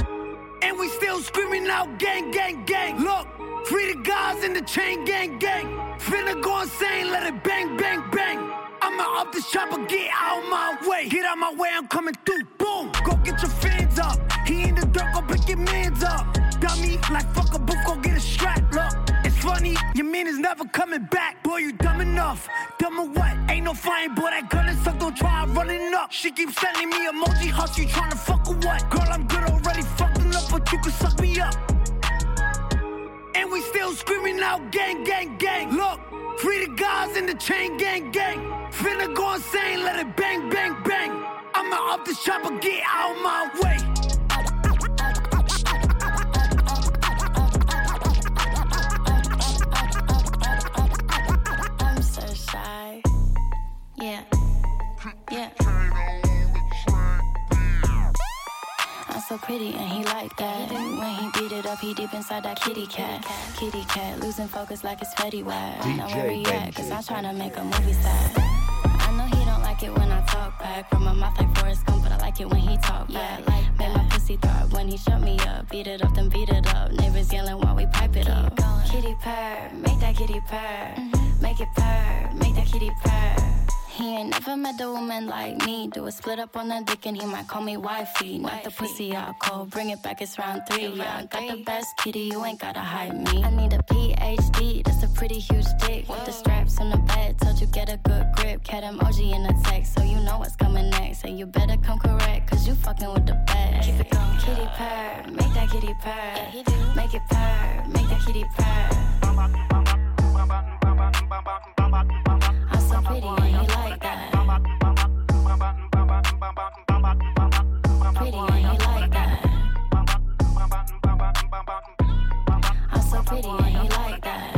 And we still screaming out gang, gang, gang. Look, free the guys in the chain gang, gang. Finna go insane, let it bang, bang, bang. I'ma up this chopper, get out my way. Get out my way, I'm coming through, boom. Go get your fans up. He in the dirt, go pick your mans up. Dummy, like fuck a booth, go get a strap. Look, it's funny, your man is never coming back. Boy, you dumb enough. Dumb or what? Ain't no flying, boy, that gun is suck, don't try running up. She keeps sending me emoji hearts, you tryna fuck or what? Girl, I'm good already, fucking up, but you can suck me up. And we still screaming out gang, gang, gang. Look, free the guys in the chain gang, gang. Finna go insane, let it bang, bang, bang. I'ma up this chopper, get out my way. I'm so shy. Yeah. Yeah. I'm so pretty and he like that. When he beat it up, he deep inside that kitty cat. Kitty cat, losing focus like it's Fetty Wap. Now where he at? Cause I'm tryna make a movie star. I know he don't like it when I talk back. From my mouth like Forrest Gump, but I like it when he talk back. Like make my pussy throb when he shut me up. Beat it up, then beat it up. Neighbors yelling while we pipe it up. Kitty purr, make that kitty purr. Make it purr, make that kitty purr. He ain't never met a woman like me. Do a split up on the dick and he might call me wifey. Knock the pussy out cold, bring it back, it's round three. Yeah, I got the best kitty, you ain't gotta hide me. I need a P H D, that's a pretty huge dick. With the straps on the bed, told you get a good grip. Cat emoji in the text, so you know what's coming next. And you better come correct, cause you fucking with the best. Keep it going. Kitty purr, make that kitty purr. Make it purr, make that kitty purr. I'm so pretty and he like that. Pretty and he like that. I'm so pretty and he like that.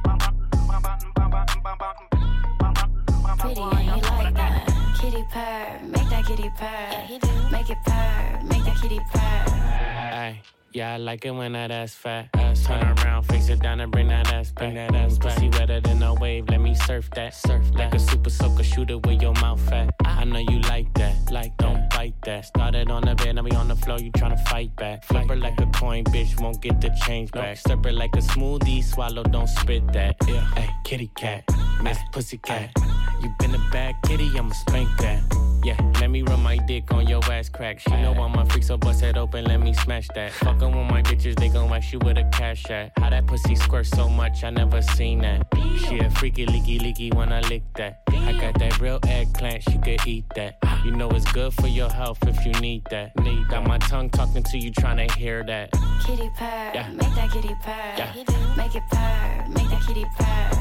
Pretty and he like that. Kitty purr, make that kitty purr. Make it purr, make that kitty purr. Ay, yeah, I like it when that ass fat. Ass turn around, face it down and bring that ass back. Bring that ass back. Pussy wetter than a wave, let me surf that. Surf like a super soaker, shooter with your mouth fat. I know you like that, like don't bite that. Started on the bed, now we on the floor, you tryna fight back. Flip her like a coin, bitch, won't get the change back. Slurp her like a smoothie, swallow, don't spit that. Yeah, hey, kitty cat. Miss Pussycat. You been a bad kitty, I'ma spank that. Yeah, let me run my dick on your ass crack. She know I'm a freak, so bust it open, let me smash that. Fuckin' with my bitches, they gon' wax you with a cash at. How that pussy squirt so much, I never seen that. She a freaky, leaky, leaky when I lick that. I got that real eggplant, she could eat that. You know it's good for your health if you need that. Need got my tongue talking to you, tryna hear that. Kitty purr, Yeah. make that kitty purr. Yeah. Make it purr, make that kitty purr.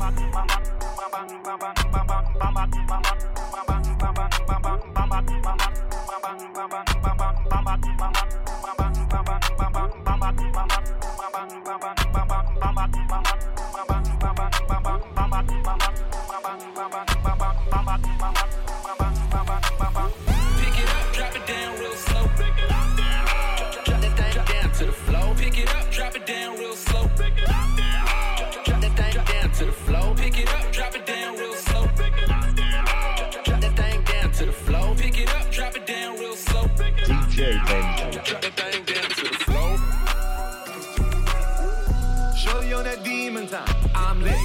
Pick it up, drop it down real slow. Pick it up, down. Drop that thing down to the floor. Pick it up, drop it down real slow. Pick it up, down. Drop that thing down to the floor. Pick it up, drop it down real slow. Pick it up, down. Drop that thing down to the floor. Pick it up, drop it down real slow. D J Benji. Drop that thing down to the floor. Shorty on that demon time. I'm lit.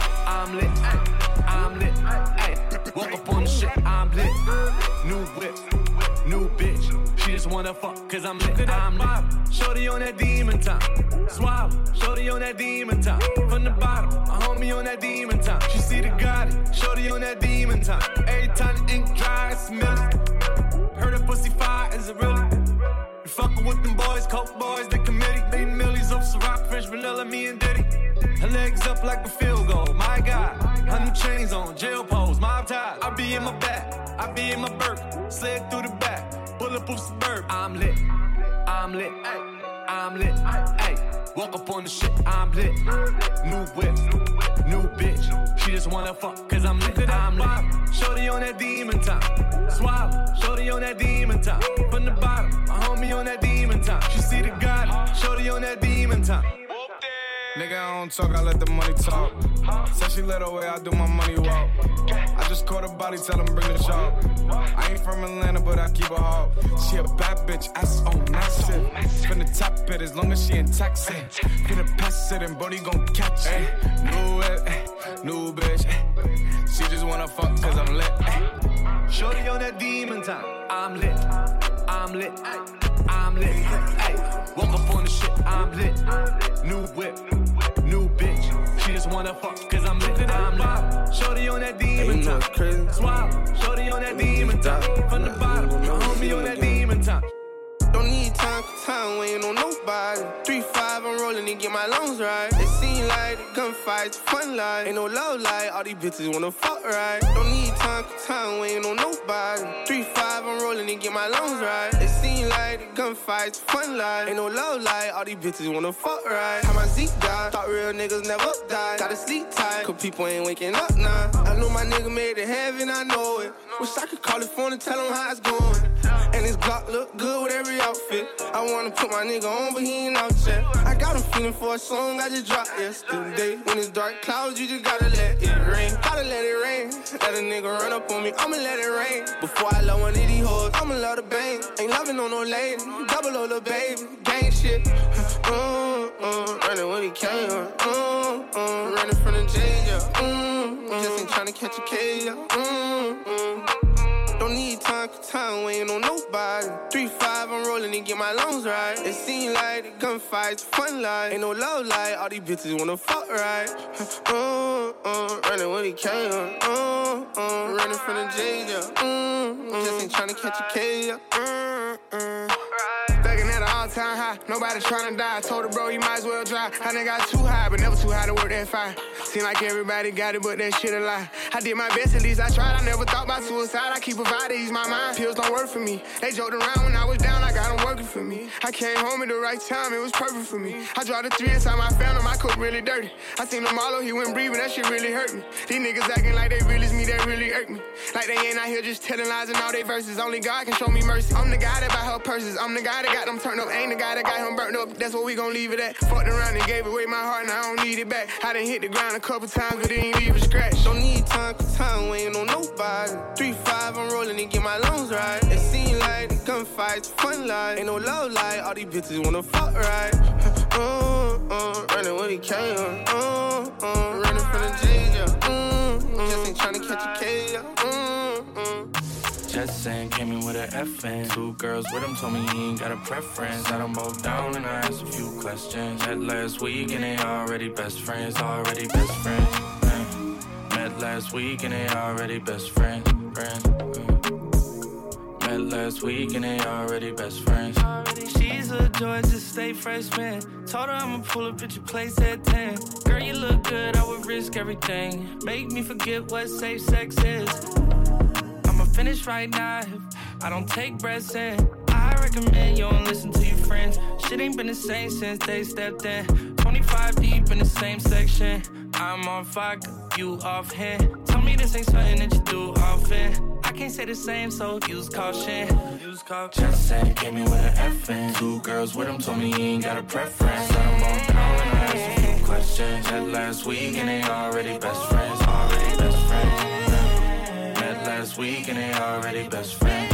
I'm lit. Ay. I'm lit. Ay. Walk up on the shit. I'm lit. New whip. New bitch. She just wanna fuck cause I'm lit. I'm lit. Shorty on that demon time. Swallow. Shorty on that demon time. From the bottom. A homie on that demon time. She see the Gotti. Shorty on that demon time. Every time the ink dry, I smell it. Heard a pussy fire, is it really? You fuckin' with them boys, coke boys, the committee. They millies of Ciroc, French vanilla, me and Diddy. Her legs up like a field goal, my God. Her new chains on, jail pose, mob ties. I be in my back, I be in my Burke. Slid through the back, bulletproof suburb. I'm lit, I'm lit, ay, I'm lit, ay. Walk up on the shit, I'm lit. New whip, new bitch. She just wanna fuck cause I'm lit, I'm lit. Shorty on that demon time. Swallow, shorty on that demon time. From the bottom, a homie on that demon time. She see the God, shorty on that demon time. Nigga, I don't talk, I let the money talk. Said she let her way, I do my money walk. I just caught a body, tell them bring the shop. I ain't from Atlanta, but I keep a hawk. She a bad bitch, ass on massive. Finna top it as long as she in Texas. Finna pass it and Brody gon' catch it. New whip, new bitch. She just wanna fuck cause I'm lit. Shorty on that demon time. I'm lit, I'm lit, I'm lit. Ay. Walk up on the shit, I'm lit. New whip, new bitch. She just wanna fuck cause I'm lit, I'm lit. Shorty on that demon time. Swallow, shorty on that demon time. From the bottom, a homie on that demon time. Don't need time for time, waiting on nobody. three five, I'm rolling and get my lungs right. It seem like the gunfights, fun life. Ain't no love life, all these bitches wanna fuck right. Don't need time for time, waiting on nobody. three five, I'm rolling and get my lungs right. It seem like the gunfights, fun life. Ain't no love life, all these bitches wanna fuck right. How my Zeke died, thought real niggas never die. Gotta sleep tight, cause people ain't waking up now. I know my nigga made it heaven, I know it. Wish I could call his phone and tell him how it's going. And his Glock look good with every outfit. I wanna put my nigga on, but he ain't out yet. I got him feeling for a song I just dropped yesterday. When it's dark clouds, you just gotta let it rain. Gotta let it rain. Let a nigga run up on me, I'ma let it rain. Before I love one of these hoes, I'ma love the bang. Ain't loving on no lady, double O the baby. Gang shit. Mm, mm, running when he came. Mm, mm, running from the jail, yeah. Mm, mm, just ain't tryna catch a case, yeah. Mm, mm. Don't need time for time, waiting on nobody. three five, I'm rolling and get my lungs right. It seem like the gunfights, fun life. Ain't no love life, all these bitches wanna fuck right. Mm, mm, running when he came. Mm, mm, running from the jail, yeah. Mm, mm, just ain't tryna catch a case, yeah. Mm, mm. Thuggin' at an all-time high, nobody tryna die. I told her, bro, you might as well try. I done got too high, but never too high to work that fire. Seem like everybody got it, but that shit a lie. I did my best, at least I tried. I never thought about suicide. I keep providing, ease my mind. Pills don't work for me. They joked around when I was down, I got them working for me. I came home at the right time, it was perfect for me. I dropped a three inside my found him, I cook really dirty. I seen him Marlo, he went breathing, that shit really hurt me. These niggas acting like they real as me, that really hurt me. Like they ain't out here just telling lies and all they verses. Only God can show me mercy. I'm the guy that buy her purses. I'm the guy that got them turned up. Ain't the guy that got him burnt up. That's what we gon' leave it at. Fucked around and gave away my heart, and I don't need it back. I done hit the ground a couple times, but it ain't leave a scratch. Don't need time for time, waiting on nobody. three five, I'm rolling and get my lungs right. It seem like the gunfights, fun life. Ain't no love life, all these bitches wanna fuck right. Mm, mm, running when he came. Mm, mm, running from the jail, yeah. Mm, just ain't tryna catch a K O. Mm-mm. Just saying, came in with an F N. Two girls with him told me he ain't got a preference. Had them both down and I asked a few questions. Met last week and they already best friends, already best friends. Uh, met last week and they already best friends. friends uh. Met last week and they already best friends. She's a Georgia State freshman. Told her I'ma pull up at your place at ten. Girl, you look good, I would risk everything. Make me forget what safe sex is. I'ma finish right now if I don't take breaths in. I recommend you don't listen to your friends. Shit ain't been the same since they stepped in. twenty-five deep in the same section. I'm on fire, you off hand. Tell me this ain't something that you do often. I can't say the same, so use caution. Use caution. Just saying, came in with an F N. Two girls with him told me he ain't got a preference. Let him both down and I asked a few questions. Met last week and they already best friends. Already best friends. Met last week and they already best friends.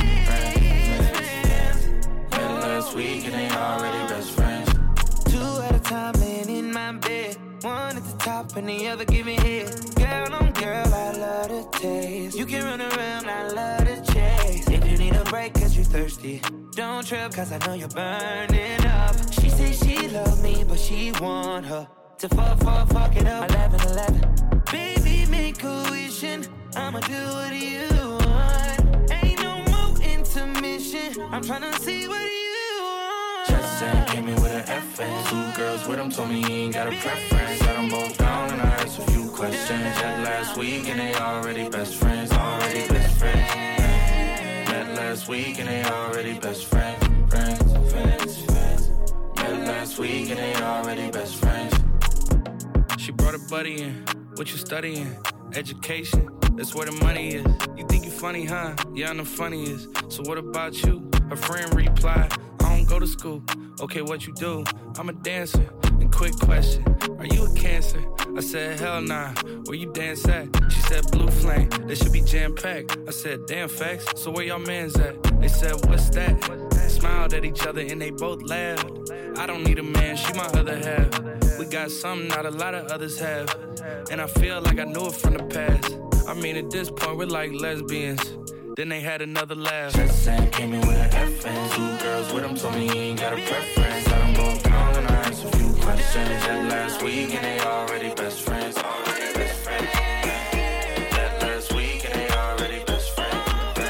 Met last week and they already best friends. Two at a time laying in my bed. One at the top and the other giving head. Girl on girl, I love the taste. You can run around, I love the chase. If you need a break cause you thirsty, don't trip cause I know you're burning up. She say she love me but she want her to fuck, fuck, fuck it up. eleven eleven. Baby, make a wishing. I'ma do what you want. Ain't no more intermission. I'm tryna see what you want. Just saying, came in with an F N. Two girls with him told me he ain't got a preference. Let them both down and I asked a few questions. Met last week and they already best friends. Already best friends. Met last week and they already best friends. Friends, friends, friends. Met last week and they already best friends. She brought a buddy in. What you studying? Education. That's where the money is. You think you funny, huh? Yeah, I'm the funniest. So what about you? Her friend replied, I don't go to school. Okay, what you do? I'm a dancer. And quick question, are you a Cancer? I said, hell nah. Where you dance at? She said, Blue Flame. They should be jam-packed. I said, damn facts. So where y'all mans at? They said, what's that? Smiled at each other and they both laughed. I don't need a man, she my other half. We got something not a lot of others have. And I feel like I knew it from the past. I mean, at this point, we're like lesbians. Then they had another laugh. Just saying, came in with an F N. Two girls with him told me he ain't got a preference. Let them both down and I asked a few questions. Met last week and they already best friends. Already best friends. Met last week and they already best friends.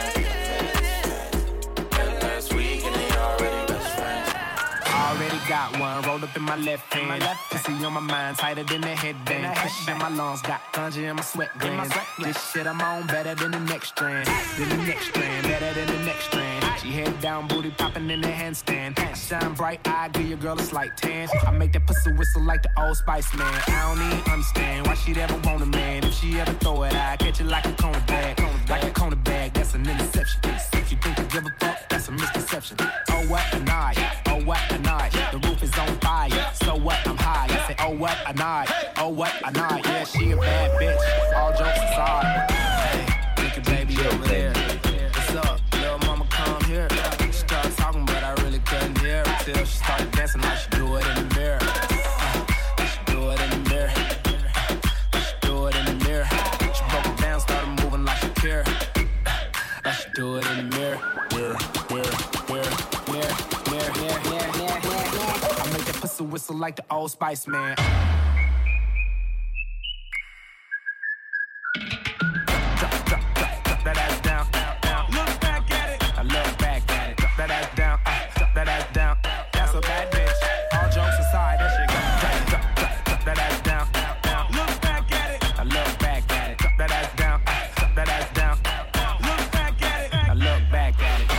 Met last week and they already best friends. Already got one rolled up in my left hand. My left pussy on my mind, tighter than the headband. Pressure in my lungs, got ganja in my sweat glands. This shit I'm on better than the next strand. Than the next strand, better than the next strand. She head down, booty popping in the handstand. Shine bright, I give your girl a slight tan. I make that pussy whistle like the Old Spice man. I don't even understand why she'd ever want a man. If she ever throw it, I catch it like a corner bag. Like a corner bag, that's an interception. If you think I give a fuck, that's a misconception. Oh what a night, oh what a night. The roof is on fire, so what, I'm high. I say, oh what a night, oh what a night. Yeah, she a bad bitch, all jokes aside. Hey, look at baby over there. What's up, little mama, come here. She started talking, but I really couldn't hear her till she started dancing like she do it in the mirror. Uh, she do it in the mirror. Uh, she do it in the mirror. She broke it down, started moving like Shakira. Uh, she do it in the mirror. Mirror, mirror, mirror, mirror, mirror, mirror, mirror, mirror, mirror. I make that pussy whistle like the Old Spice man. Drop, drop, drop, drop that ass down, down, down. Look back at it. I look back at it. Drop that ass down, uh, drop that ass down. That's a bad bitch. All jokes aside, that shit got drop, drop, drop, drop that ass down, down, down. Look back at it. I look back at it. Drop that ass down, uh, drop that ass down. Look back at it. I look back at it.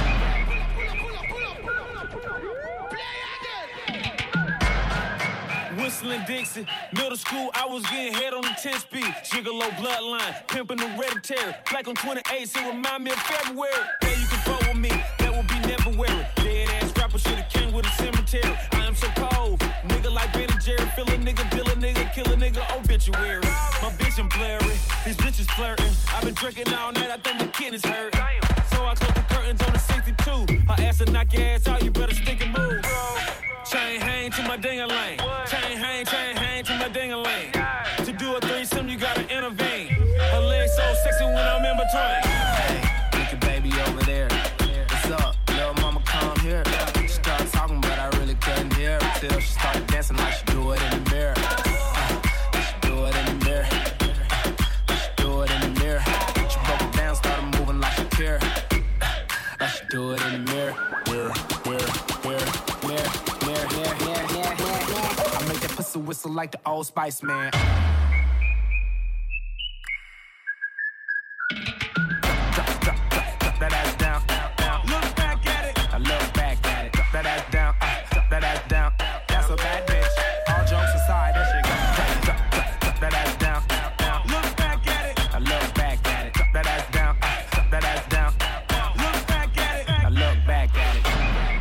Whistling Dixie, middle school, I was getting head on the ten speed. Gigolo bloodline, pimping hereditary. Black on twenty-eight, so remind me of February. Yeah, you can vote with me, that would be never weary. Dead ass rapper should've came with a cemetery. I am so cold, nigga like Ben and Jerry. Fill a nigga, deal a nigga, kill a nigga, obituary. My bitch I'm blurry, these bitches flirting. I've been drinking all night, I think the kidneys hurt. So I close the curtains on the sixty-two. Her ass will knock your ass out, you better stick and move. Chain hang to my ding-a-ling. Chain hang, chain hang to my ding-a-ling. To do a threesome, you gotta intervene. Her legs so like the Old Spice, man. Drop, drop, drop, drop that ass down, down, down. Look back at it. I look back at it. Drop that ass down, uh, drop that ass down. That's a bad bitch. All jokes aside, that shit go. Drop, drop, drop, drop that ass down, down, down. Look back at it. I look back at it. Drop that ass down, uh, drop that ass down. Look back at it. I look back at it.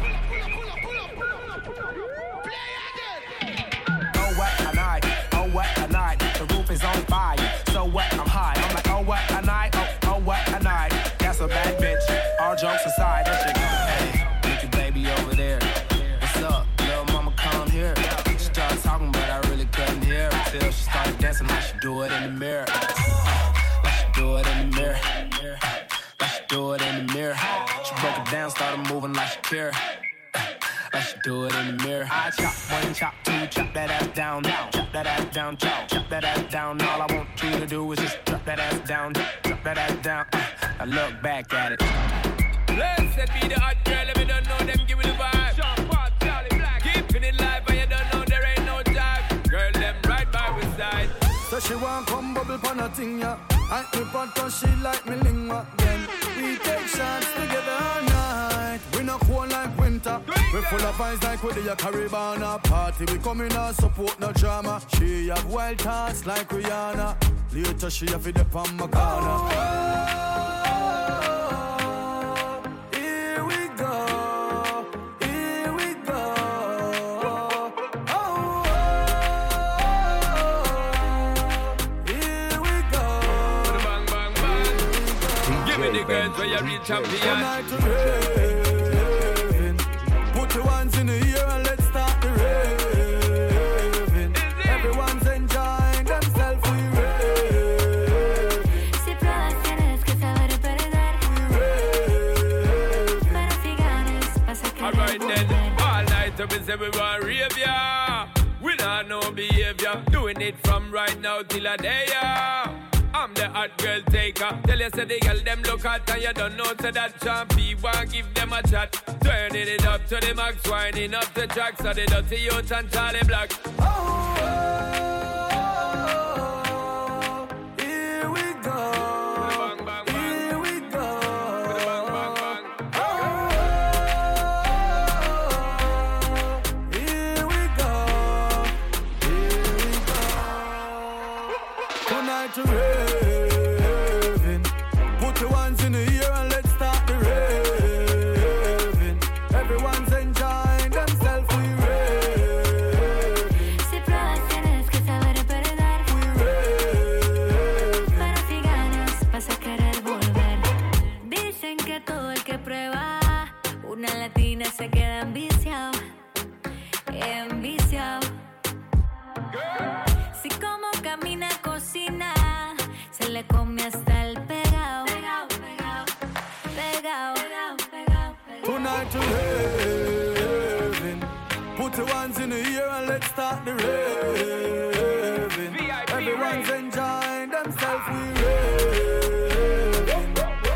Oh what a night, oh what a night. The roof is on fire. So what? I'm high. I'm like, oh what a night, oh oh what a night. That's a bad bitch. All jokes aside, that shit go. Hey, look your baby over there. What's up, little mama? Come here. She started talking, but I really couldn't hear her till she started dancing. Like she do it in the mirror. Like she do it in the mirror. Like she do it in the mirror. She broke it down, started moving like she care. Like she do it in the mirror. I chop one, chop two, chop that ass down, down. Chop that ass down, chop, chop that ass down. All I want you to do is just drop that ass down, drop that ass down. I look back at it. Blessed be the hot girl, if you don't know them, give me the vibe. Sean Paul, Charlie Black, keeping it live, and you don't know there ain't no time. Girl, them right by my side. So she want come bubble pon a thing, yeah. I keep on cause she like me lingua. Then we take shots together all night. We not cold like winter. We full of vibes like with the Caribbean party. We come in and support no drama. She have wild thoughts like Rihanna. Later she have it up on my corner. Oh, here we go. Here we go. Oh, here we go. Bang, bang, bang. Give me the girls where you reach champion. Put your hands in the air and let's start the raving. Everyone's enjoying themselves, we raving. Si pruebas tienes que saber perder. Pero si ganas vas a querer Alright then, volver. all night up and say we want rave ya. We not know behavior. Doing it from right now till a day ya. I'm the hot girl taker. Tell you say the girl them look hot and you don't know say that champy want give them a chat. Turning it up to the max, winding up the track so the dirty youth and Charlie Black. Oh, here we go. Here we go. Oh, here we go. Here we go. Tonight to raving. Put your hands in the air and let's start the raving. Everyone's enjoying themselves, we raving. Si pruebas tienes que saber perder. We raving. Pero si ganas vas a querer volver. Dicen que todo el que prueba una latina se queda enviciado. Enviciado. Si como camina, cocina, se le come hasta el pegao. Pegao, pegao, pegao, pegao, pegao. Tonight to raving. Put your hands in the air and let's start the raving. Everyone's enjoying themselves, we raving.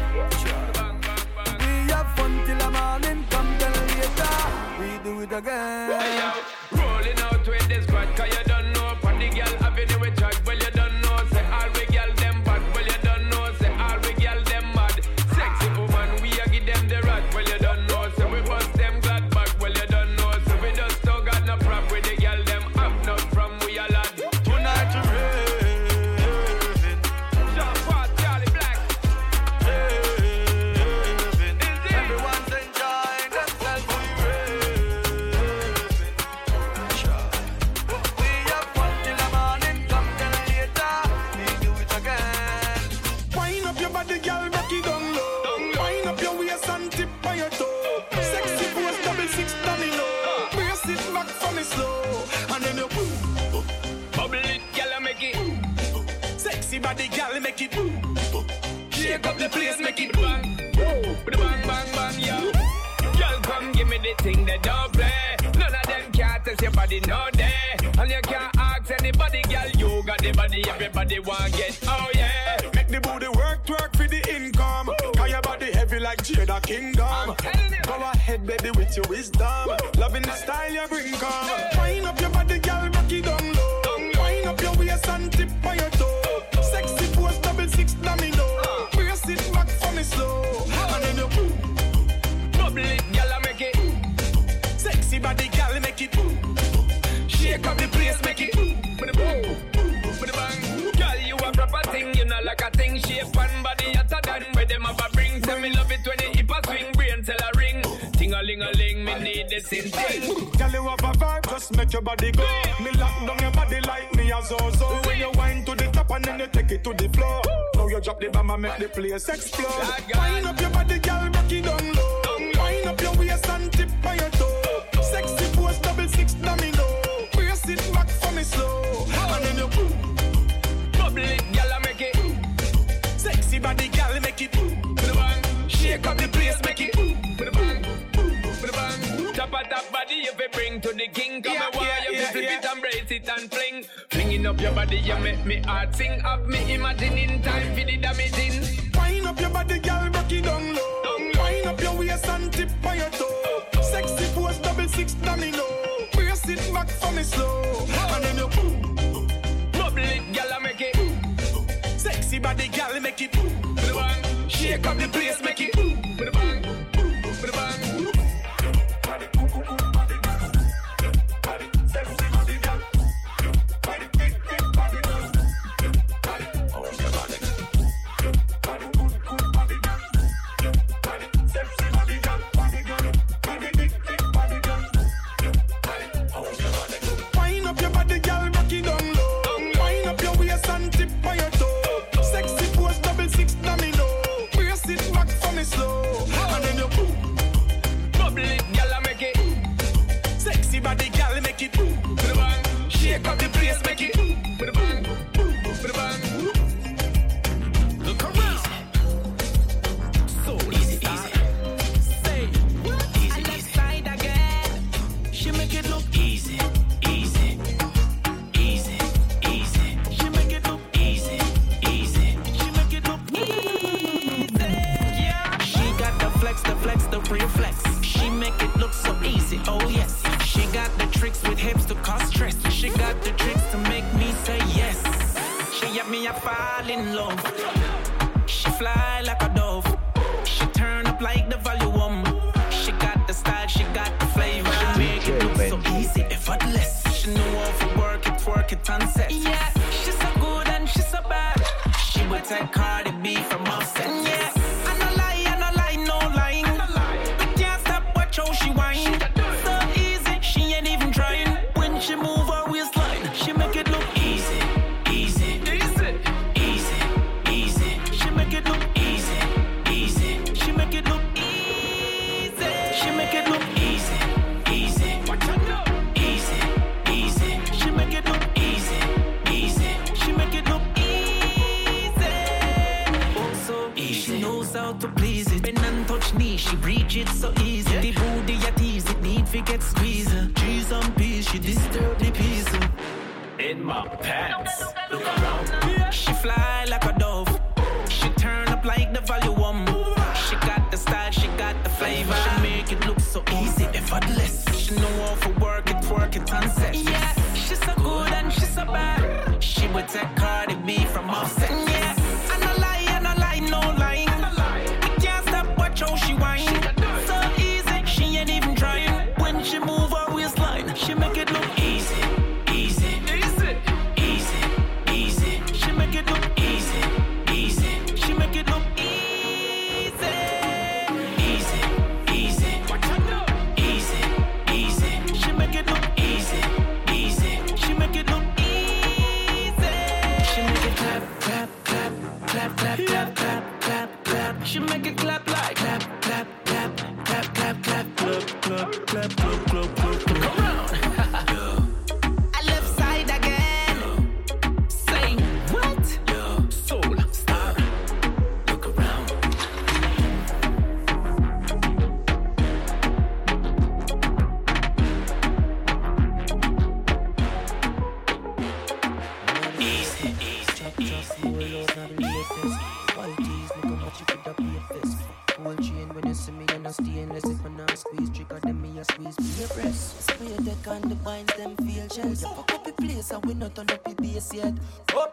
We have fun till the morning, come then later we do it again. Hey, yo, rolling out with this squad, cause you don't know. Pon the girl having it with chat, well you don't know. Say all we girl them bad, well you don't know. Say all we girl them mad. Sexy woman, we a give them the rat, well you don't know. Say we bust them glad back, well you don't know. So we just don't got no prop with the girl them up not from we a lad. Tonight to raving. Sean Paul, Charlie Black. Raving. Everyone's enjoying themselves, we raving. We have fun till the morning, come then later we do it again. Wind up your body, girl, rock it down low. Wind up your waist and tip on your toe. Sexy pose, double six domino. Brace it back for me slow, and then you boom, Bubble it, girl, make it. sexy body, girl, make it boom. Shake up the place, make it bang. With the bang, bang, bang, yo. Girl, come give me the thing that don't play. None of them can't test your body, no day. And you can't ask anybody, girl, you got the body, everybody want get. Oh yeah. Make the booty work, twerk for the income. Cause your body heavy like Jada Kingdom. Go ahead, baby, with your wisdom. Loving the style you bring, come. Wind up your body, girl, rock it down low. and tip on your toe. Sexy pose, double six domino. Brace it back for me slow. And then you bubble it, gyal, I make it. Sexy body, gyal, make it. Shake up the place, make it. With the bang, with the bang. Gyal, you a proper thing, you know like a thing. Shape and body hotter than where them have a bring. Tell me love it when you hip a swing, brain tell a ring. Ting-a-ling-a-ling, me need this in thing. Gyal, you have a vibe, just make your body go. Me lock down your body like me a zo-zo. When you wind to the top and then you take it to the floor. Now you drop the bomb and make the place explode. Wind up your body, gyal, rock it down low. Wind up your waist and tip on your toe. Sexy pose, double six domino. Brace it back for me slow. And then you bubble it, gyal, I make it. Sexy body, gyal, make it. With the bang, shake up the place, make it. With the bang, with the bang. Top of that body, you fi bring to the king. Come Yeah, and wire, yeah, you yeah, flip yeah. it and brace it and fling. Flinging up your body, you make me heart sing. Have me imagining time for the damaging. Wind up your body, gyal, rock it down low. Wind up your waist and tip on your toe. Sexy pose, double six domino. Brace it back for me slow. And then you bubble it, gyal, I make it. Sexy body, gyal, make it. With the bang, shake up the place, make it. With the bang, with the bang. Wind up your body, gyal, rock it down low. Wind up your waist and tip on your toe. Sexy pose, double six domino. Brace it back for me slow. And then you bubble it, gyal, I make it. Sexy body, gyal, make it. With the bang, shake up the place, make it. With the bang, with the bang. Look around. So easy, easy. Say, easy, easy. Side again. She make it look Easy, easy, easy, easy. She make it look Easy, easy. She make it look easy. Yeah. She got the flex, the flex, the real flex. She make it look so easy. Oh yes. She got the tricks with hips to cause stress. She got the tricks to make me say yes. She have me a fall in love. She fly like a dove. She turn up like the volume. She got the style, she got the flavor. She make it look so easy, effortless. She know how to work it, work it and set. Yeah, she's so good and she's so bad. She would take Cardi B from Offset. Yeah, I no lie, I no lie, no lying. We can't stop, watch how she whine. So easy, she ain't even trying. When she move her waistline, she make it look Easy, easy, easy, easy, easy. she make it look Easy, easy, She make it look easy. She make it look easy, easy. Easy, easy, She make it look easy, easy. She make it look easy. Oh, so Easy. she knows how to please it. Bend and touch knee, she reach it so easy. The booty you tease it, need to get squeezed. Cheese and peas, she disturb the peace. In my pants. Look around. She fly like a dove. She turn up like the volume. She got the style, she got the flavor. She make it look so easy, effortless. She know how to work it, work it and set. Yeah, she's so good and she's so bad. She would take Cardi B from Offset. Yeah, I no lie, I no lie, no lying. We can't stop, watch how she whine. So easy, she ain't even trying. When she move her waistline, she make it look Easy, easy, easy. easy, easy. She make it look Easy, easy, She make it look easy. easy, easy. Easy, easy, She make it look easy, easy. She make it look easy. She make it clap, clap, clap, clap, clap, clap, clap, clap, clap. She make it clap like clap, clap, clap, clap, clap, clap, clap, clap, clap, clap, clap, clap. Come around. I left side again. Say what? Yo, Soul star. look around. Easy, easy, easy, easy. Qualities, look how much you could have paid this. Gold chain when you see me, you know stainless. If I now squeeze, trigger them, me a squeeze, be a press. Spray your deck and the binds them feel shells. You fuck up the place and we not turn up the base yet. Oh,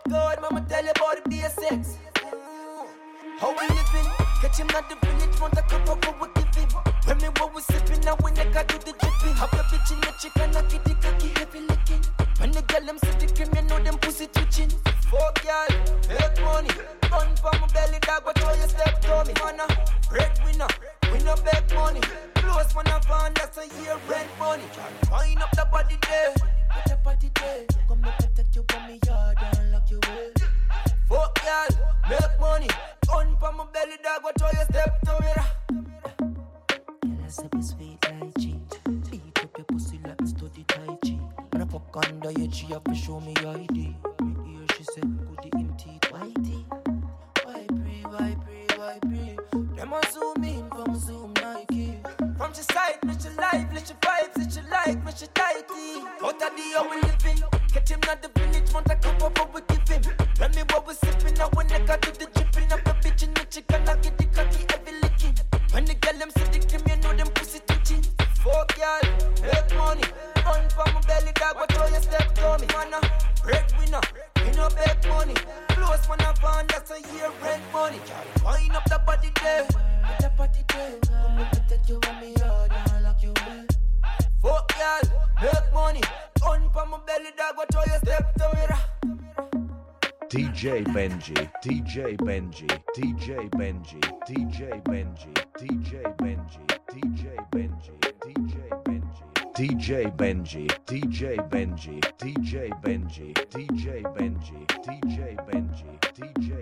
tell you about the basics. How we living? Catch him at the village, want a cup of what we give him. When me what we sipping, now we never do the dripping. Have your bitch in the chicken, I get the cocky heavy licking. When the girl them see the cream, you know them pussy twitching. Fuck y'all, make money. Run for my belly dog, but how you step to me? Man a breadwinner, we no beg money. Close man a van, that's a year rent money. Wind up the body there, put the body there. Come make me take you from me yard and lock you away. Fuck y'all, make money. Run for my belly dog, but how you step to me? Girl, I say be sweet like cheese. Beat up your pussy like me study Tai Chi. When I fuck under your G, you have to show me your I D. Me hear she said, goody in teeth, whitey. Why pray, why pray, why pray? Them a zoom in from Zoom Nike. From your side, let your life, let your vibes, let your like, let your tighty. Out of the how we living. Catch him at the village, want a cup of what we give him. Tell me what we sipping, now when I got to the dripping. Up the bitch in the chicken, I get the cocky heavy licking. When the girl them see the cream, you know them pussy twitching. Fuck y'all, make money. Run for my belly dog, but how you step to me? Man a breadwinner, we no beg money. Close man a van, that's a year rent money. Wind up the body there, put the body there. Come on, take you on me yard and lock you away. Fuck y'all, make money. Run for my belly dog, but how you step to me? D J Benji, D J Benji, D J Benji, D J Benji, D J Benji, D J Benji, D J Benji, D J Benji, D J Benji, D J Benji, D J Benji, D J Benji, D J